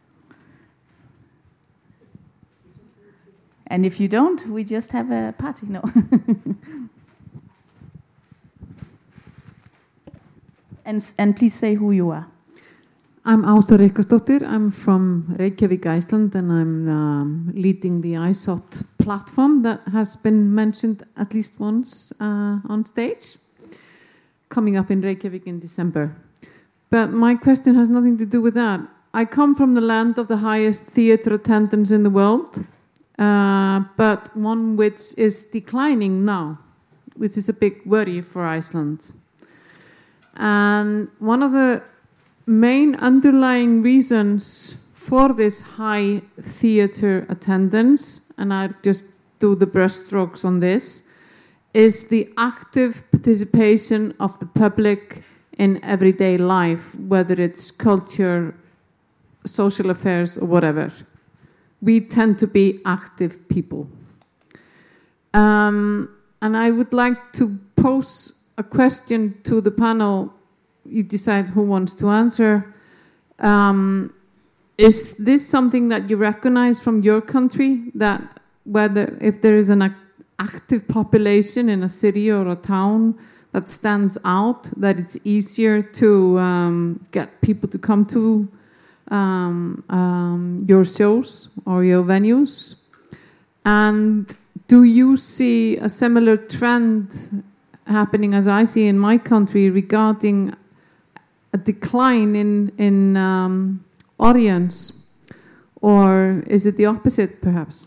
And if you don't, we just have a party. No. and and please say who you are. I'm Ása Ríkharðsdóttir. I'm from Reykjavik, Iceland, and I'm um, leading the I S O T platform that has been mentioned at least once uh, on stage, coming up in Reykjavik in December. But my question has nothing to do with that. I come from the land of the highest theatre attendance in the world, uh, but one which is declining now, which is a big worry for Iceland. And one of the main underlying reasons for this high theatre attendance, and I just do the brushstrokes on this, is the active participation of the public in everyday life, whether it's culture, social affairs, or whatever. We tend to be active people. Um, and I would like to pose a question to the panel. You decide who wants to answer. Um, is this something that you recognize from your country, that whether if there is an ac- active population in a city or a town that stands out, that it's easier to um, get people to come to um, um, your shows or your venues? And do you see a similar trend happening as I see in my country regarding a decline in in um, audience, or is it the opposite, perhaps?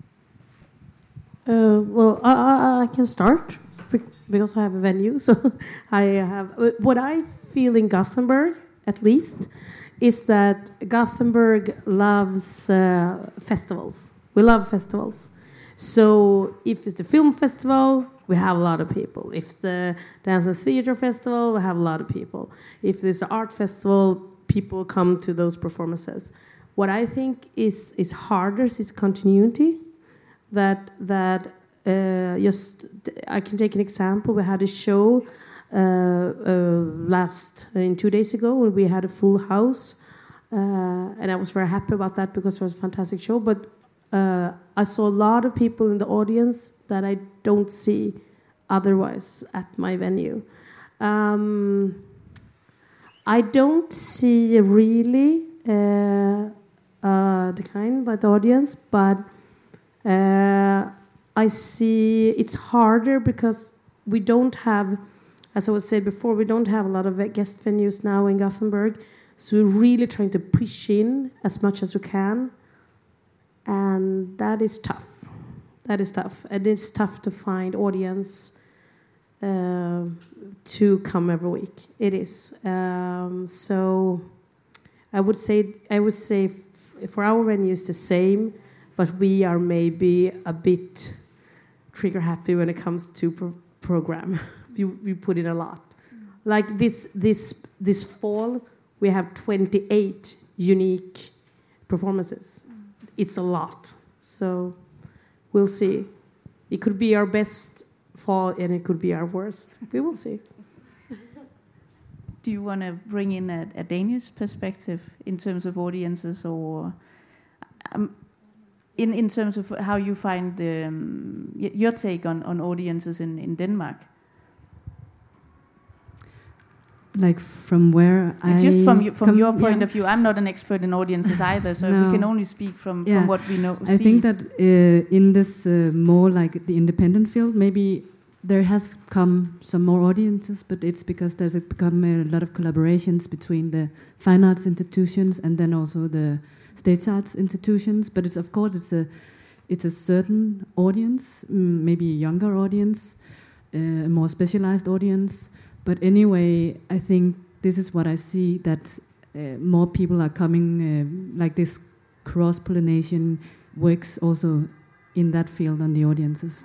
Uh, well, I, I, I can start because I have a venue. So I have what I feel in Gothenburg, at least, is that Gothenburg loves uh, festivals. We love festivals. So if it's the film festival, we have a lot of people. If the dance and theater festival, we have a lot of people. If there's an art festival, people come to those performances. What I think is is harder is continuity. That that uh, just I can take an example. We had a show uh, uh, last uh, in two days ago when we had a full house, uh, and I was very happy about that because it was a fantastic show. But uh, I saw a lot of people in the audience that I don't see otherwise at my venue. Um, I don't see really uh, a decline by the audience, but uh, I see it's harder because we don't have, as I was saying before, we don't have a lot of guest venues now in Gothenburg, so we're really trying to push in as much as we can, and that is tough. That is tough, and it's tough to find audience uh, to come every week. It is. Um, so I would say I would say f- for our venue it's the same, but we are maybe a bit trigger happy when it comes to pro- program. we we put in a lot. Like this this this fall we have twenty-eight unique performances. It's a lot. So we'll see. It could be our best fall, and it could be our worst. We will see. Do you want to bring in a, a Danish perspective in terms of audiences, or um, in in terms of how you find um, y- your take on, on audiences in, in Denmark? Like from where I Just from you, from come, your point yeah. of view, I'm not an expert in audiences either, so No. we can only speak from, Yeah. from what we know. I see. think that uh, in this uh, more like the independent field, maybe there has come some more audiences, but it's because there's a, become a lot of collaborations between the fine arts institutions and then also the stage arts institutions. But it's of course it's a it's a certain audience, mm, maybe a younger audience, uh, a more specialized audience. But anyway, I think this is what I see, that uh, more people are coming, uh, like this cross-pollination works also in that field on the audiences.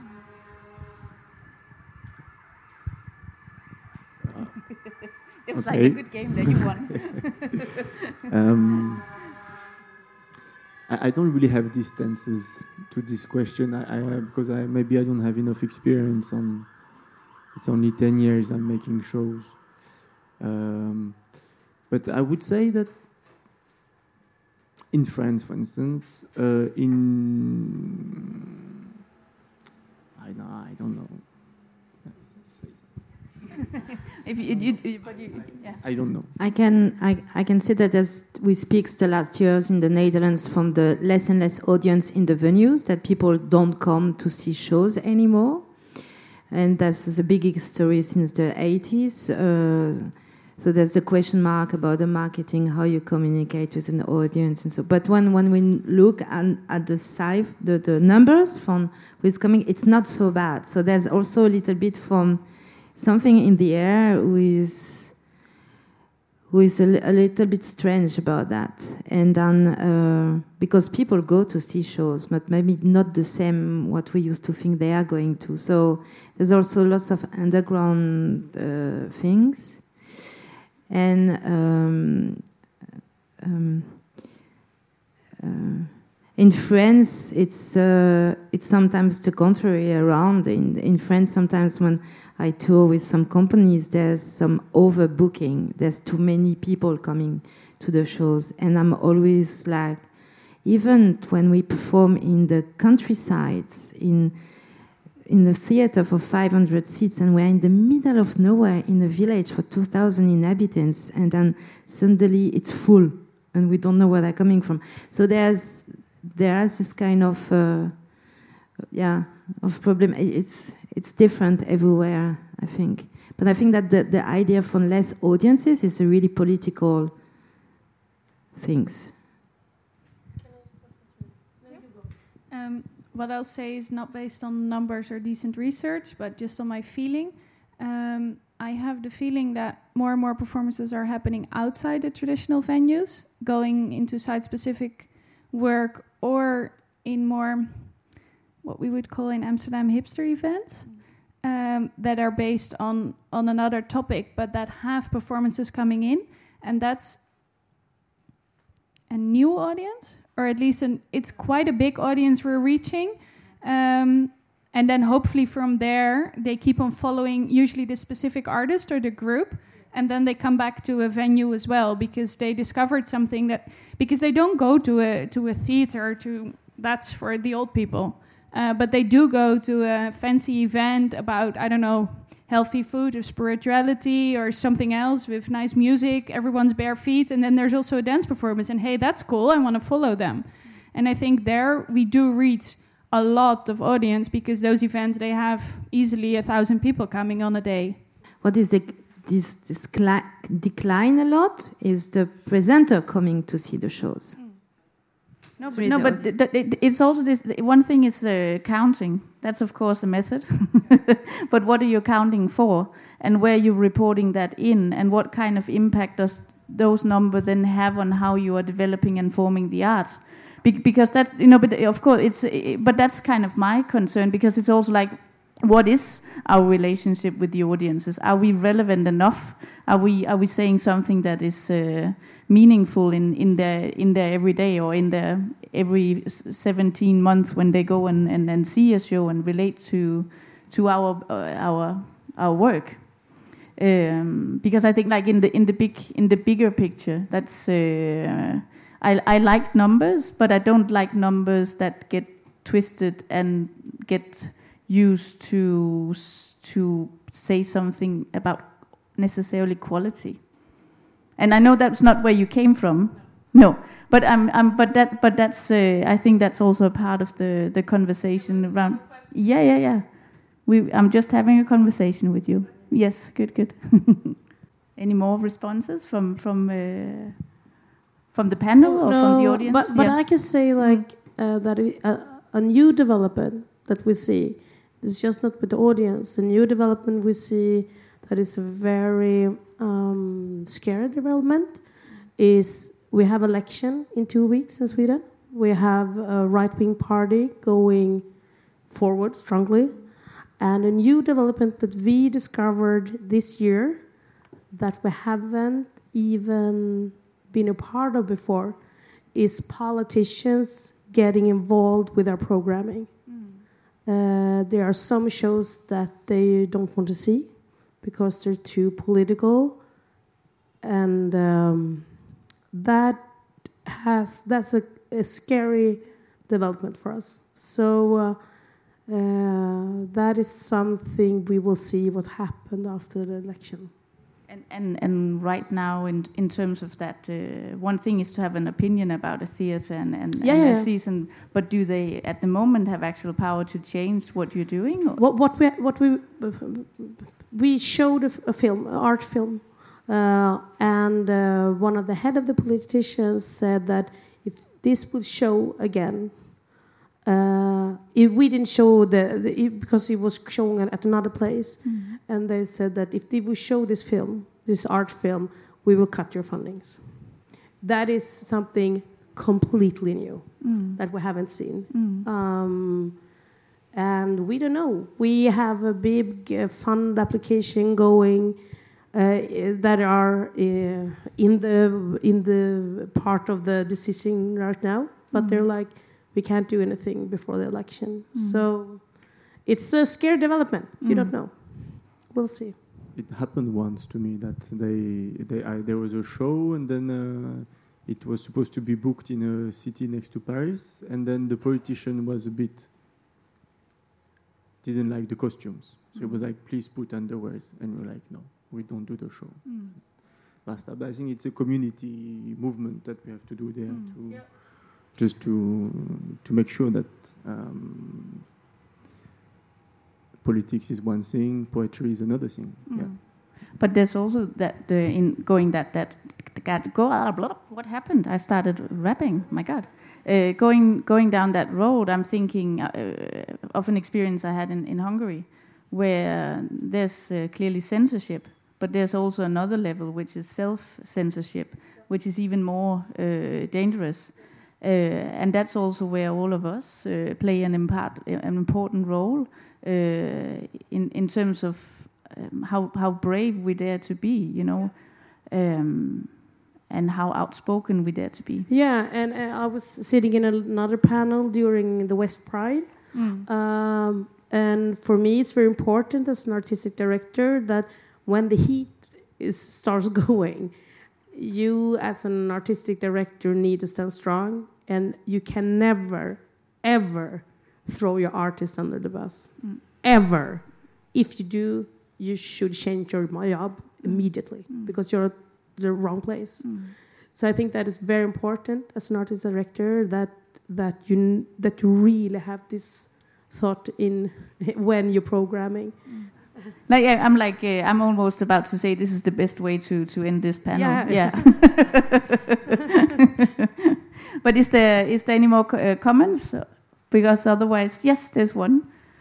It was Okay. like a good game that you won. um, I, I don't really have distances to this question. I, I because I maybe I don't have enough experience on. It's only ten years I'm making shows, um, but I would say that in France, for instance, uh, in I know I don't know. if you, you, you, but you, yeah. I don't know. I can I, I can say that as we speak the last years in the Netherlands from the less and less audience in the venues, that people don't come to see shows anymore, and that's the big history since the eighties. Uh, so there's a question mark about the marketing, how you communicate with an audience, and so. But when when we look at, at the size, the, the numbers from who's coming, it's not so bad. So there's also a little bit from something in the air with who is a, a little bit strange about that. And then, uh, because people go to see shows, but maybe not the same what we used to think they are going to. So there's also lots of underground uh, things. And um, um, uh, in France, it's uh, it's sometimes the contrary around. In in France, sometimes when I tour with some companies, there's some overbooking. There's too many people coming to the shows. And I'm always like, even when we perform in the countryside, in in a theater for five hundred seats, and we're in the middle of nowhere in a village for two thousand inhabitants, and then suddenly it's full, and we don't know where they're coming from. So there's there's this kind of, uh, yeah, of problem. It's It's different everywhere, I think. But I think that the, the idea for less audiences is a really political things. Um, what I'll say is not based on numbers or decent research, but just on my feeling. Um, I have the feeling that more and more performances are happening outside the traditional venues, going into site-specific work or in more what we would call in Amsterdam hipster events um, that are based on, on another topic, but that have performances coming in. And that's a new audience, or at least an, it's quite a big audience we're reaching. Um, and then hopefully from there, they keep on following usually the specific artist or the group. And then they come back to a venue as well because they discovered something that, because they don't go to a, to a theater, to that's for the old people. Uh, but they do go to a fancy event about, I don't know, healthy food or spirituality or something else with nice music, everyone's bare feet, and then there's also a dance performance, and hey, that's cool, I want to follow them. And I think there we do reach a lot of audience because those events, they have easily a thousand people coming on a day. What is the, this, this cli- decline a lot is the presenter coming to see the shows. No, but, no, but th- th- it's also this. One thing is the counting. That's of course a method. But what are you counting for, and where you're reporting that in, and what kind of impact does those numbers then have on how you are developing and forming the arts? Be- because that's you know, but of course it's. But that's kind of my concern because it's also like, what is our relationship with the audiences? Are we relevant enough? Are we are we saying something that is uh, meaningful in, in their in their everyday or in their every seventeen months when they go and, and, and see a show and relate to to our uh, our our work? Um, because I think like in the in the big in the bigger picture, that's uh, I I like numbers, but I don't like numbers that get twisted and get used to to say something about necessarily quality. And I know that's not where you came from. No, but I'm, I'm but that but that's uh, I think that's also a part of the, the conversation around. Yeah, yeah, yeah. We I'm just having a conversation with you. Yes, good, good. Any more responses from from uh, from the panel or no, from the audience? But but yeah. I can say like uh, that uh, a new development that we see. It's just not with the audience. The new development we see that is a very um, scary development is we have election in two weeks in Sweden. We have a right-wing party going forward strongly. And a new development that we discovered this year that we haven't even been a part of before is politicians getting involved with our programming. Uh, there are some shows that they don't want to see because they're too political, and um, that has that's a, a scary development for us. So uh, uh, that is something we will see what happened after the election. And, and and right now, in in terms of that, uh, one thing is to have an opinion about a theatre and, and, yeah, and yeah. a season, but do they at the moment have actual power to change what you're doing? Or? What what we what we we showed a, a film, an art film, uh, and uh, one of the head of the politicians said that if this would show again, uh, if we didn't show the, the it, because it was showing at another place. Mm-hmm. And they said that if they will show this film, this art film, we will cut your fundings. That is something completely new mm. that we haven't seen. Mm. Um, and we don't know. We have a big uh, fund application going uh, that are uh, in the in the part of the decision right now. But mm. they're like, we can't do anything before the election. Mm. So it's a scary development. You mm. don't know. We'll see. It happened once to me that they, they I, there was a show and then uh, it was supposed to be booked in a city next to Paris, and then the politician was a bit didn't like the costumes, so mm. it was like, please put underwears, and we're like, no, we don't do the show. Mm. Basta. But I think it's a community movement that we have to do there mm. to yeah. just to to make sure that. Um, Politics is one thing, poetry is another thing. Mm. Yeah. But there's also that uh, in going that that that go blah, blah, what happened? I started rapping. My God, uh, going going down that road. I'm thinking uh, of an experience I had in, in Hungary, where there's uh, clearly censorship, but there's also another level which is self censorship, which is even more uh, dangerous. Uh, and that's also where all of us uh, play an, impart, an important role. Uh, in in terms of um, how how brave we dare to be, you know, um, and how outspoken we dare to be. Yeah, and uh, I was sitting in another panel during the West Pride, mm. um, and for me, it's very important as an artistic director that when the heat is starts going, you as an artistic director need to stand strong, and you can never, ever. Throw your artist under the bus. Mm. Ever. If you do, you should change your job immediately mm. because you're at the wrong place. Mm. So I think that is very important as an artist director that that you that you really have this thought in when you're programming. Mm. Like I'm like uh, I'm almost about to say this is the best way to to end this panel. Yeah. yeah. But is there is there any more co- uh, comments? Because otherwise, yes, there's one.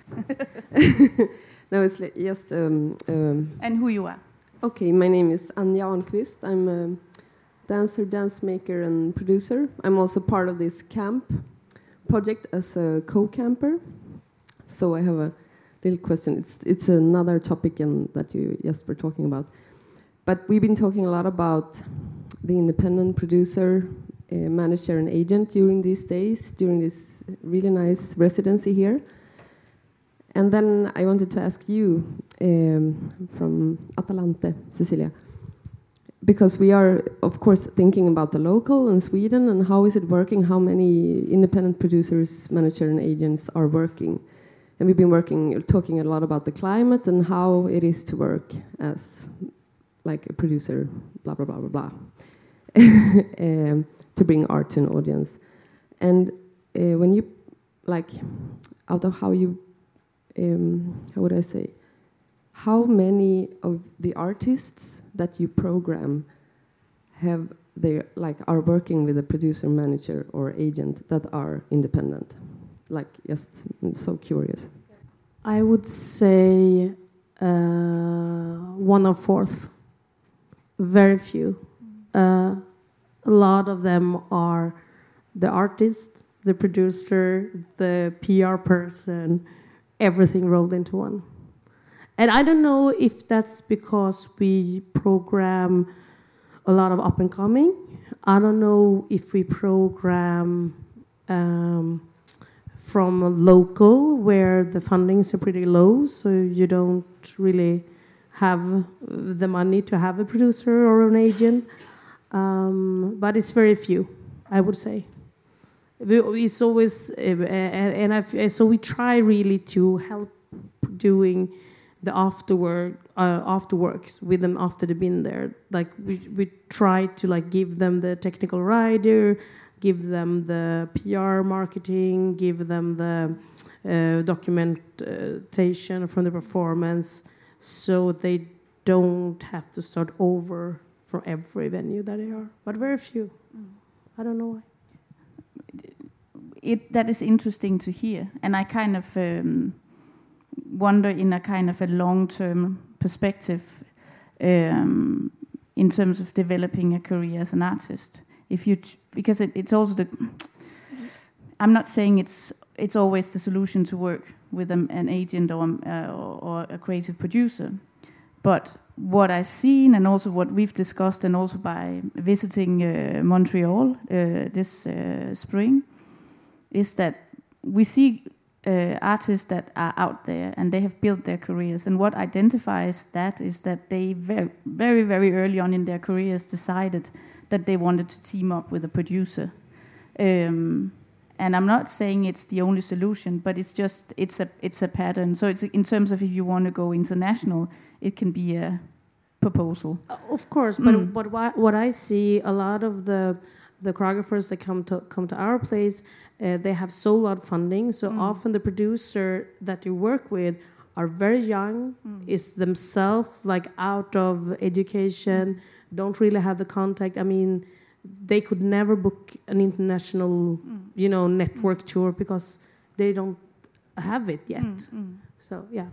No, it's just... Um, um, and who you are? Okay, my name is Anja Arnqvist. I'm a dancer, dance maker, and producer. I'm also part of this camp project as a co-camper. So I have a little question. It's it's another topic in, that you just were talking about. But we've been talking a lot about the independent producer, uh, manager, and agent during these days, during this really nice residency here. And then I wanted to ask you um, from Atalante, Cecilia, because we are, of course, thinking about the local in Sweden and how is it working, how many independent producers, manager, and agents are working. And we've been working, talking a lot about the climate and how it is to work as like a producer, blah, blah, blah, blah, blah, um, to bring art to an audience. And uh, when you, like, out of how you, um, how would I say, how many of the artists that you program have they like are working with a producer, manager, or agent that are independent? Like, just I'm so curious. I would say uh, one or fourth. Very few. Uh, a lot of them are the artist, the producer, the P R person, everything rolled into one. And I don't know if that's because we program a lot of up and coming. I don't know if we program um, from a local where the fundings are pretty low, so you don't really have the money to have a producer or an agent. Um, but it's very few, I would say. It's always, uh, and I've, so we try really to help doing the afterwork, uh, afterworks with them after they've been there. Like we we try to like give them the technical rider, give them the P R marketing, give them the uh, documentation from the performance, so they don't have to start over for every venue that they are. But very few. Mm. I don't know why. It, that is interesting to hear, and I kind of um, wonder in a kind of a long-term perspective um, in terms of developing a career as an artist. If you, ch- because it, it's also the, I'm not saying it's it's always the solution to work with an, an agent or, uh, or or a creative producer, but what I've seen and also what we've discussed, and also by visiting uh, Montreal uh, this uh, spring, is that we see uh, artists that are out there and they have built their careers. And what identifies that is that they very, very, very early on in their careers decided that they wanted to team up with a producer. Um, and I'm not saying it's the only solution, but it's just it's a it's a pattern. So it's in terms of if you want to go international, it can be a proposal. Uh, of course, but Mm. but what, what I see, a lot of the the choreographers that come to come to our place, uh, they have sole out funding. So Mm. often the producer that you work with are very young, Mm. is themselves like out of education, don't really have the contact. I mean, they could never book an international, Mm. you know, network tour because they don't have it yet. Mm, mm. So yeah.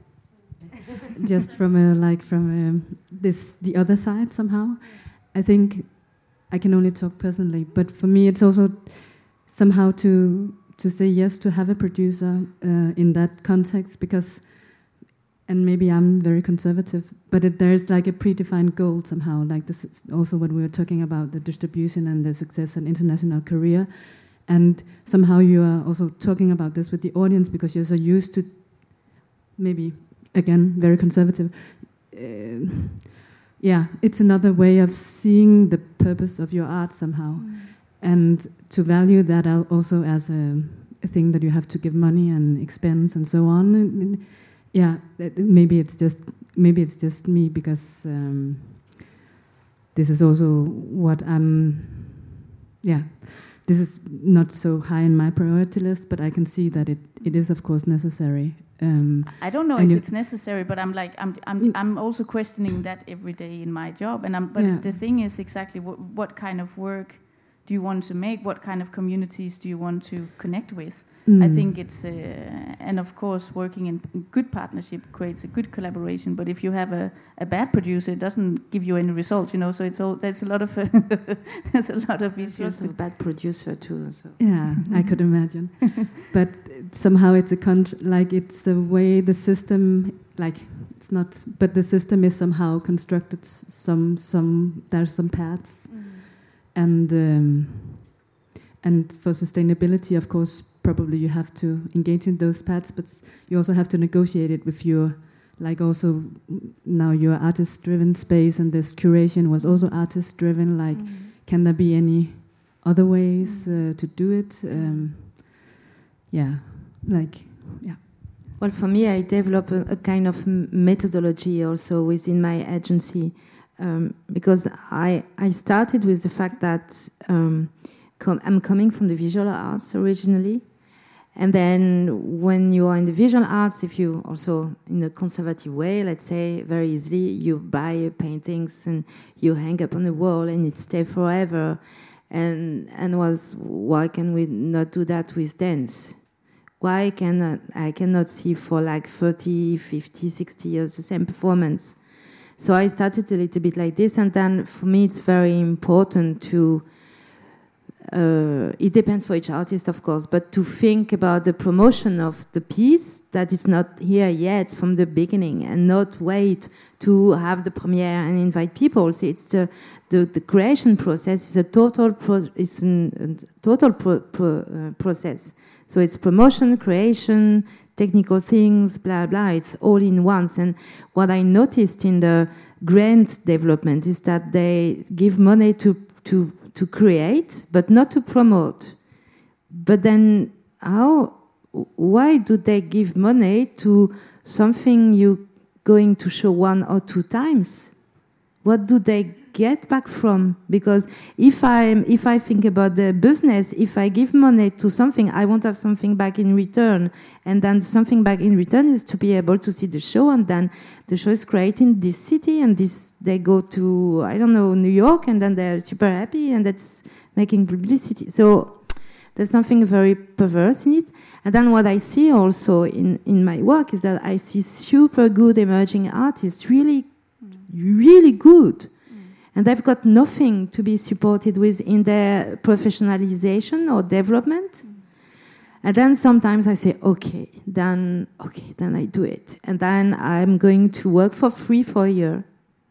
Just from a, like from um this the other side somehow, I think I can only talk personally, but for me it's also somehow to to say yes to have a producer uh, in that context, because, and maybe I'm very conservative, but it, there's like a predefined goal somehow. Like this is also what we were talking about, the distribution and the success and international career, and somehow you are also talking about this with the audience because you're so used to, maybe again very conservative. Uh, yeah, it's another way of seeing the purpose of your art somehow, mm. and to value that also as a, a thing that you have to give money and expense and so on. And, yeah, maybe it's just maybe it's just me because um, this is also what I'm. Yeah, this is not so high in my priority list, but I can see that it, it is of course necessary. Um, I don't know and if you- it's necessary, but I'm like I'm I'm Mm. I'm also questioning that every day in my job. And I'm but Yeah. the thing is exactly what what kind of work do you want to make? What kind of communities do you want to connect with? I Mm. think it's uh, and of course working in good partnership creates a good collaboration. But if you have a, a bad producer, it doesn't give you any results, you know. So it's all there's a lot of there's a lot of There's issues. lots of bad producer too. So. Yeah, I could imagine. But somehow it's a contr- like it's a way the system, like it's not, but the system is somehow constructed. s- Some some there's some paths, and um, and for sustainability, of course, probably you have to engage in those paths, but s- you also have to negotiate it with your, like also mm, now your artist-driven space, and this curation was also artist-driven. Like, can there be any other ways uh, to do it? Um, yeah, like, yeah. Well, for me, I develop a, a kind of m- methodology also within my agency, um, because I I started with the fact that um, com- I'm coming from the visual arts originally, and then when you are in the visual arts, if you also in a conservative way, let's say very easily, you buy paintings and you hang up on the wall and it stays forever, and and was why can we not do that with dance? Why cannot I cannot see for like thirty, fifty, sixty years the same performance? So I started a little bit like this, and then for me it's very important to uh, it depends for each artist, of course, but to think about the promotion of the piece that is not here yet from the beginning, and not wait to have the premiere and invite people. So it's the the, the creation process is a total pro, is an, a total pro, pro, uh, process. So it's promotion, creation, technical things, blah blah. It's all in once. And what I noticed in the grant development is that they give money to to to create, but not to promote. But then how, why do they give money to something you're going to show one or two times? What do they get back from? Because if I if I think about the business, if I give money to something, I won't have something back in return. And then something back in return is to be able to see the show, and then the show is created in this city, and this they go to, I don't know, New York, and then they're super happy, and that's making publicity. So there's something very perverse in it. And then what I see also in, in my work is that I see super good emerging artists, really, really good. And they've got nothing to be supported with in their professionalization or development. And then sometimes I say, okay, then okay, then I do it. And then I'm going to work for free for a year.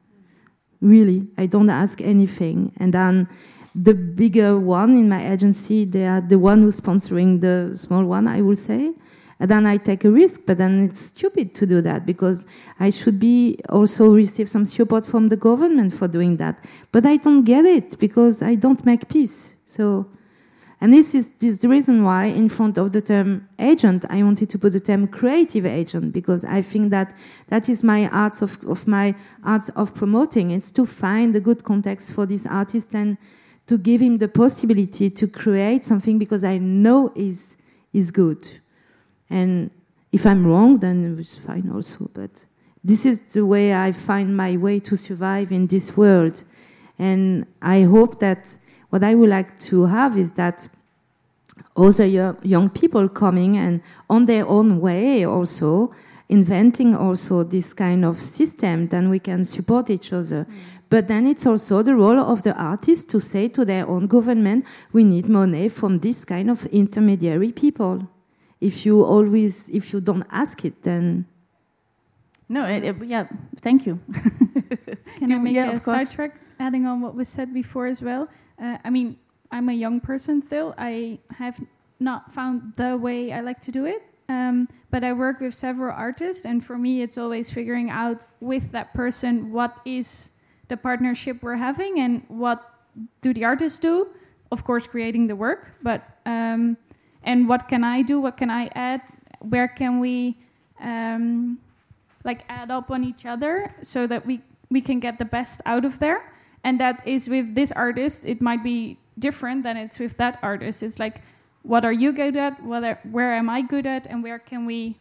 Really, I don't ask anything. And then the bigger one in my agency, they are the one who's sponsoring the small one, I will say. And then I take a risk, but then it's stupid to do that, because I should be also receive some support from the government for doing that. But I don't get it, because I don't make peace. So, and this is, this is the reason why in front of the term agent, I wanted to put the term creative agent, because I think that that is my arts of, of my arts of promoting. It's to find a good context for this artist and to give him the possibility to create something, because I know is is good. And if I'm wrong, then it's fine also. But this is the way I find my way to survive in this world. And I hope that what I would like to have is that other young people coming and on their own way also, inventing also this kind of system, then we can support each other. Mm. But then it's also the role of the artists to say to their own government, we need money from this kind of intermediary people. If you always, if you don't ask it, then... No, it, it, yeah, thank you. Can I make yeah, a sidetrack, adding on what was said before as well? Uh, I mean, I'm a young person still. I have not found the way I like to do it. Um, but I work with several artists, and for me, it's always figuring out with that person what is the partnership we're having and what do the artists do. Of course, creating the work, but... Um, And what can I do? What can I add? Where can we um, like add up on each other so that we, we can get the best out of there? And that is with this artist, it might be different than it's with that artist. It's like, what are you good at? What are, where am I good at? And where can we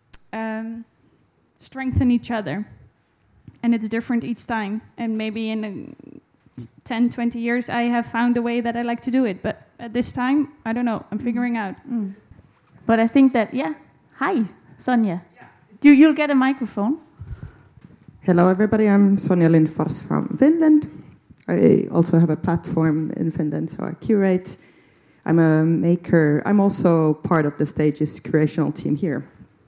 um, strengthen each other? And it's different each time. And maybe in a ten, twenty years, I have found a way that I like to do it. But at this time, I don't know. I'm figuring out. Mm. But I think that, yeah. Hi, Sonja. Yeah. You, you'll get a microphone. Hello, everybody. I'm Sonja Lindfors from Finland. I also have a platform in Finland, so I curate. I'm a maker. I'm also part of the Stages creational team here.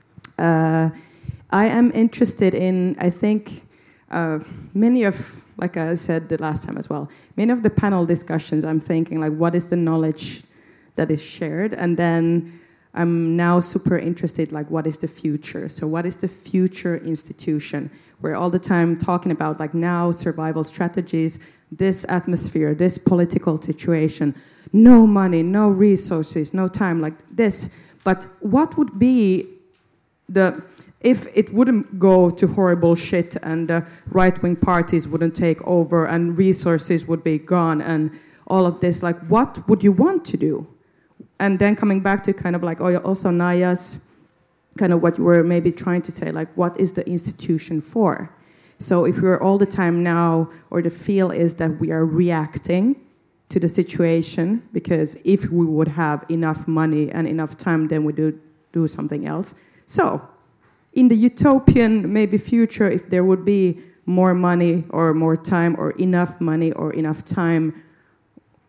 Uh, I am interested in, I think, uh, many of... Like I said the last time as well, many of the panel discussions, I'm thinking, like, what is the knowledge that is shared? And then I'm now super interested, like, what is the future? So what is the future institution? We're all the time talking about, like, now survival strategies, this atmosphere, this political situation, no money, no resources, no time, like this. But what would be the... If it wouldn't go to horrible shit and uh, right-wing parties wouldn't take over and resources would be gone and all of this, like, what would you want to do? And then coming back to kind of like also Naya's, kind of what you were maybe trying to say, like, what is the institution for? So if we're all the time now, or the feel is that we are reacting to the situation, because if we would have enough money and enough time, then we do do something else. So in the utopian maybe future, if there would be more money or more time or enough money or enough time,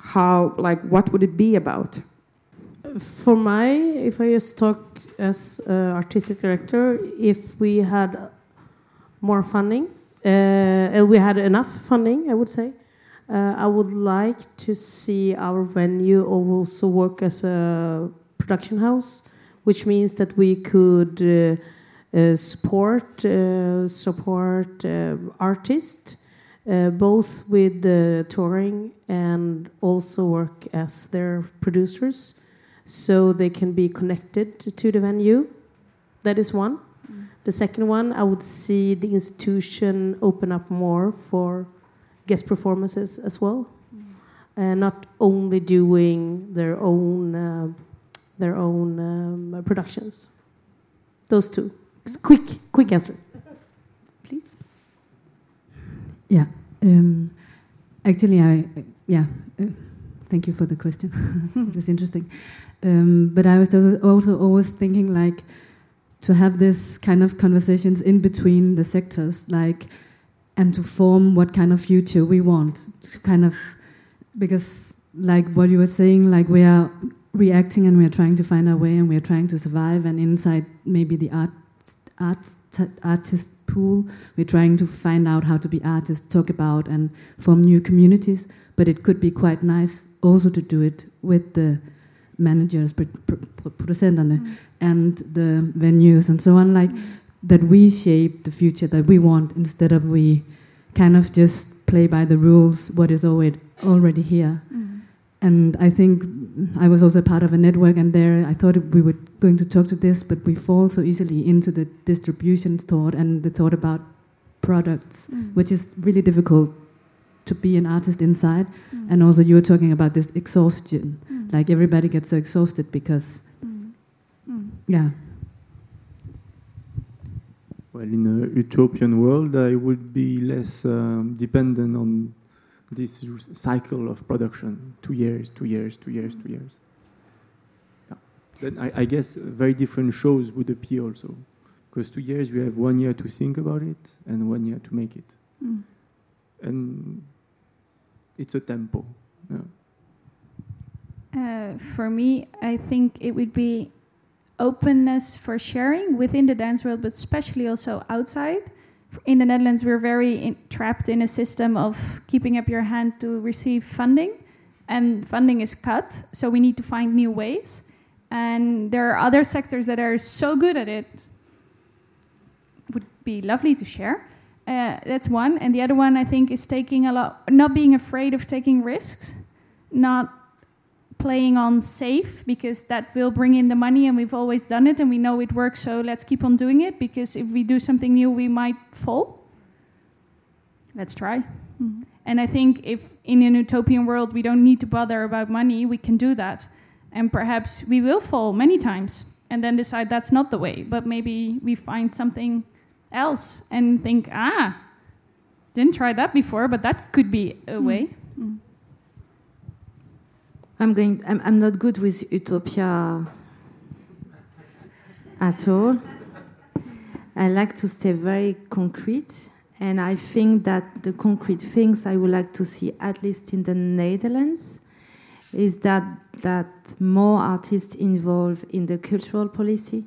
how, like, what would it be about? For my, if I just talk as uh, artistic director, if we had more funding, uh, we had enough funding, I would say, uh, I would like to see our venue also work as a production house, which means that we could uh, uh, support uh, support uh, artists, uh, both with uh, touring and also work as their producers, so they can be connected to the venue. That is one. Mm. The second one, I would see the institution open up more for guest performances as well, mm. and not only doing their own uh, their own um, productions. Those two. Quick, quick answers, please. Yeah. Um, actually, I yeah. Uh, thank you for the question. It's interesting. Um, but I was also always thinking, like, to have this kind of conversations in between the sectors, like, and to form what kind of future we want. To kind of, because, like what you were saying, like, we are reacting and we are trying to find our way and we are trying to survive, and inside maybe the art, art artist pool, we're trying to find out how to be artists, talk about and form new communities. But it could be quite nice also to do it with the managers, producenterne, mm. and the venues and so on, like, mm. that we shape the future that we want, instead of we kind of just play by the rules what is already already here. Mm. And I think I was also part of a network, and there I thought we were going to talk to this, but we fall so easily into the distribution thought and the thought about products, mm. which is really difficult to be an artist inside. Mm. And also you were talking about this exhaustion, mm. like everybody gets so exhausted because mm. Mm. yeah. Well, in a utopian world, I would be less um, dependent on this cycle of production. Two years, two years, two years, two years. Yeah. Then I, I guess very different shows would appear also, because two years you have one year to think about it and one year to make it. Mm. And it's a tempo. Yeah. Uh, for me, I think it would be openness for sharing within the dance world, but especially also outside. In the Netherlands, we're very in, trapped in a system of keeping up your hand to receive funding, and funding is cut, so we need to find new ways. And there are other sectors that are so good at it. Would be lovely to share. Uh, that's one. And the other one, I think, is taking a lot, not being afraid of taking risks, not playing on safe, because that will bring in the money and we've always done it and we know it works, so let's keep on doing it, because if we do something new, we might fall. Let's try. Mm-hmm. And I think if in an utopian world we don't need to bother about money, we can do that. And perhaps we will fall many times and then decide that's not the way, but maybe we find something else and think, ah, didn't try that before, but that could be a mm. way. Mm. I'm going. I'm, I'm not good with utopia at all. I like to stay very concrete, and I think that the concrete things I would like to see, at least in the Netherlands, is that that more artists involved in the cultural policy.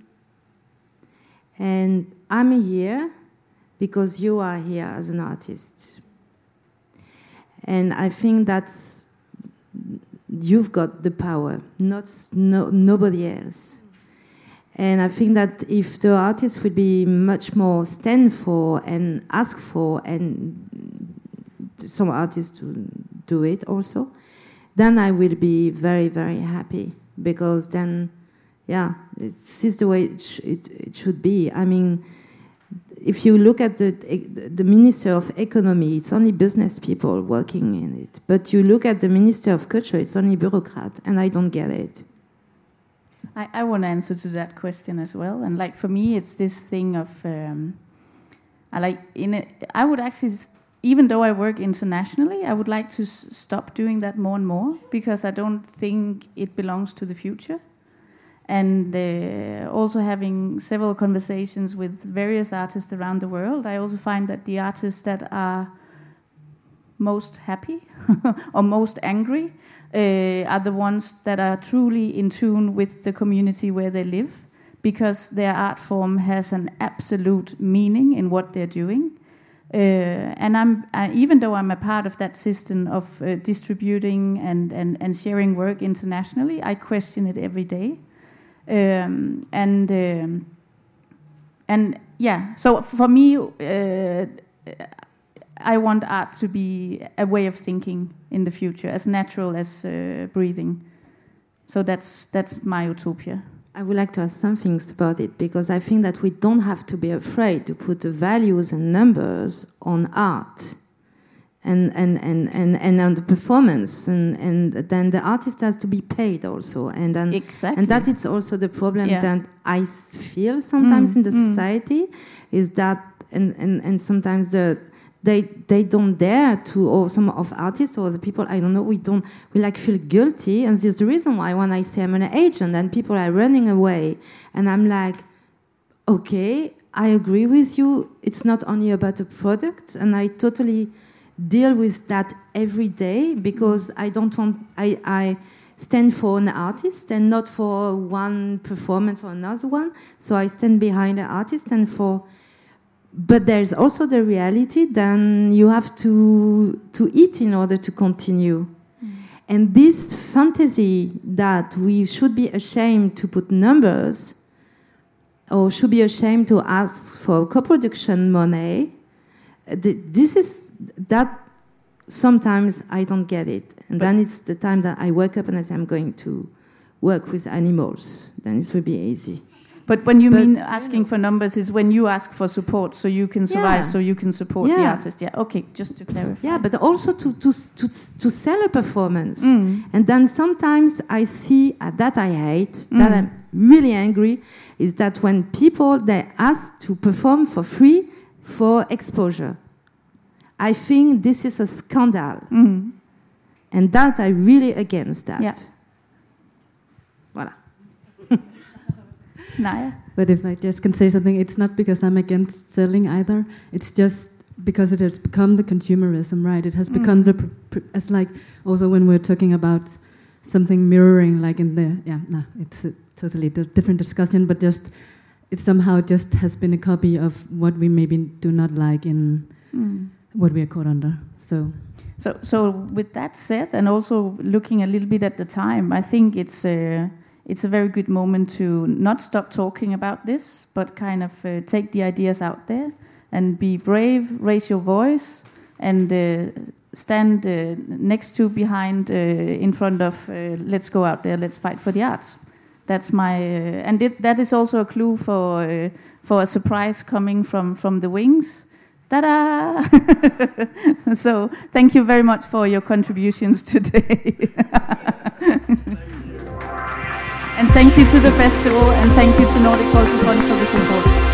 And I'm here because you are here as an artist. And I think that's, you've got the power, not no, nobody else. And I think that if the artists would be much more stand for and ask for, and some artists do it also, then I will be very, very happy, because then, yeah, this is the way it, sh- it, it should be. I mean, if you look at the the Minister of Economy, it's only business people working in it. But you look at the Minister of Culture, it's only bureaucrats, and I don't get it. I, I want to answer to that question as well. And like for me, it's this thing of, um, I like in it. I would actually, even though I work internationally, I would like to s- stop doing that more and more, because I don't think it belongs to the future. And uh, also having several conversations with various artists around the world, I also find that the artists that are most happy or most angry uh, are the ones that are truly in tune with the community where they live, because their art form has an absolute meaning in what they're doing. Uh, and I'm uh, even though I'm a part of that system of uh, distributing and, and, and sharing work internationally, I question it every day. Um, and um, and yeah, so for me, uh, I want art to be a way of thinking in the future, as natural as uh, breathing. So that's that's my utopia. I would like to ask some things about it, because I think that we don't have to be afraid to put the values and numbers on art and and, and, and, and on the performance, and, and then the artist has to be paid also. And then, exactly. And that is also the problem yeah. that I feel sometimes mm, in the mm. society, is that, and, and, and sometimes the They they don't dare to, or some of artists or the people, I don't know, we don't, we like feel guilty. And this is the reason why when I say I'm an agent and people are running away, and I'm like, okay, I agree with you. It's not only about a product, and I totally deal with that every day, because I don't want, I, I stand for an artist and not for one performance or another one. So I stand behind the artist and for. But there's also the reality, then you have to to eat in order to continue. Mm. And this fantasy that we should be ashamed to put numbers, or should be ashamed to ask for co-production money, th- this is, that sometimes I don't get it. And but then it's the time that I wake up and I say I'm going to work with animals. Then it will be easy. But when you but, mean asking for numbers is when you ask for support so you can survive, yeah. so you can support yeah. the artist. Yeah, okay, just to clarify. Yeah, but also to to to, to sell a performance. Mm. And then sometimes I see, uh, that I hate, mm. that I'm really angry, is that when people, they ask to perform for free for exposure. I think this is a scandal. Mm. And that I really against that. Yeah. Voilà. Naya? But if I just can say something, it's not because I'm against selling either. It's just because it has become the consumerism, right? It has become mm. the, pr- pr- as like, also when we're talking about something mirroring, like in the, yeah, no, it's a totally di- different discussion, but just, it somehow just has been a copy of what we maybe do not like in mm. what we are caught under, so... So, so with that said, and also looking a little bit at the time, I think it's a, it's a very good moment to not stop talking about this, but kind of uh, take the ideas out there and be brave, raise your voice, and uh, stand uh, next to, behind, uh, in front of, uh, let's go out there, let's fight for the arts. That's my, uh, and it, that is also a clue for uh, for a surprise coming from, from the Wings. Ta-da! So thank you very much for your contributions today. And thank you to the festival, and thank you to Nordic Cultural Fund for the support.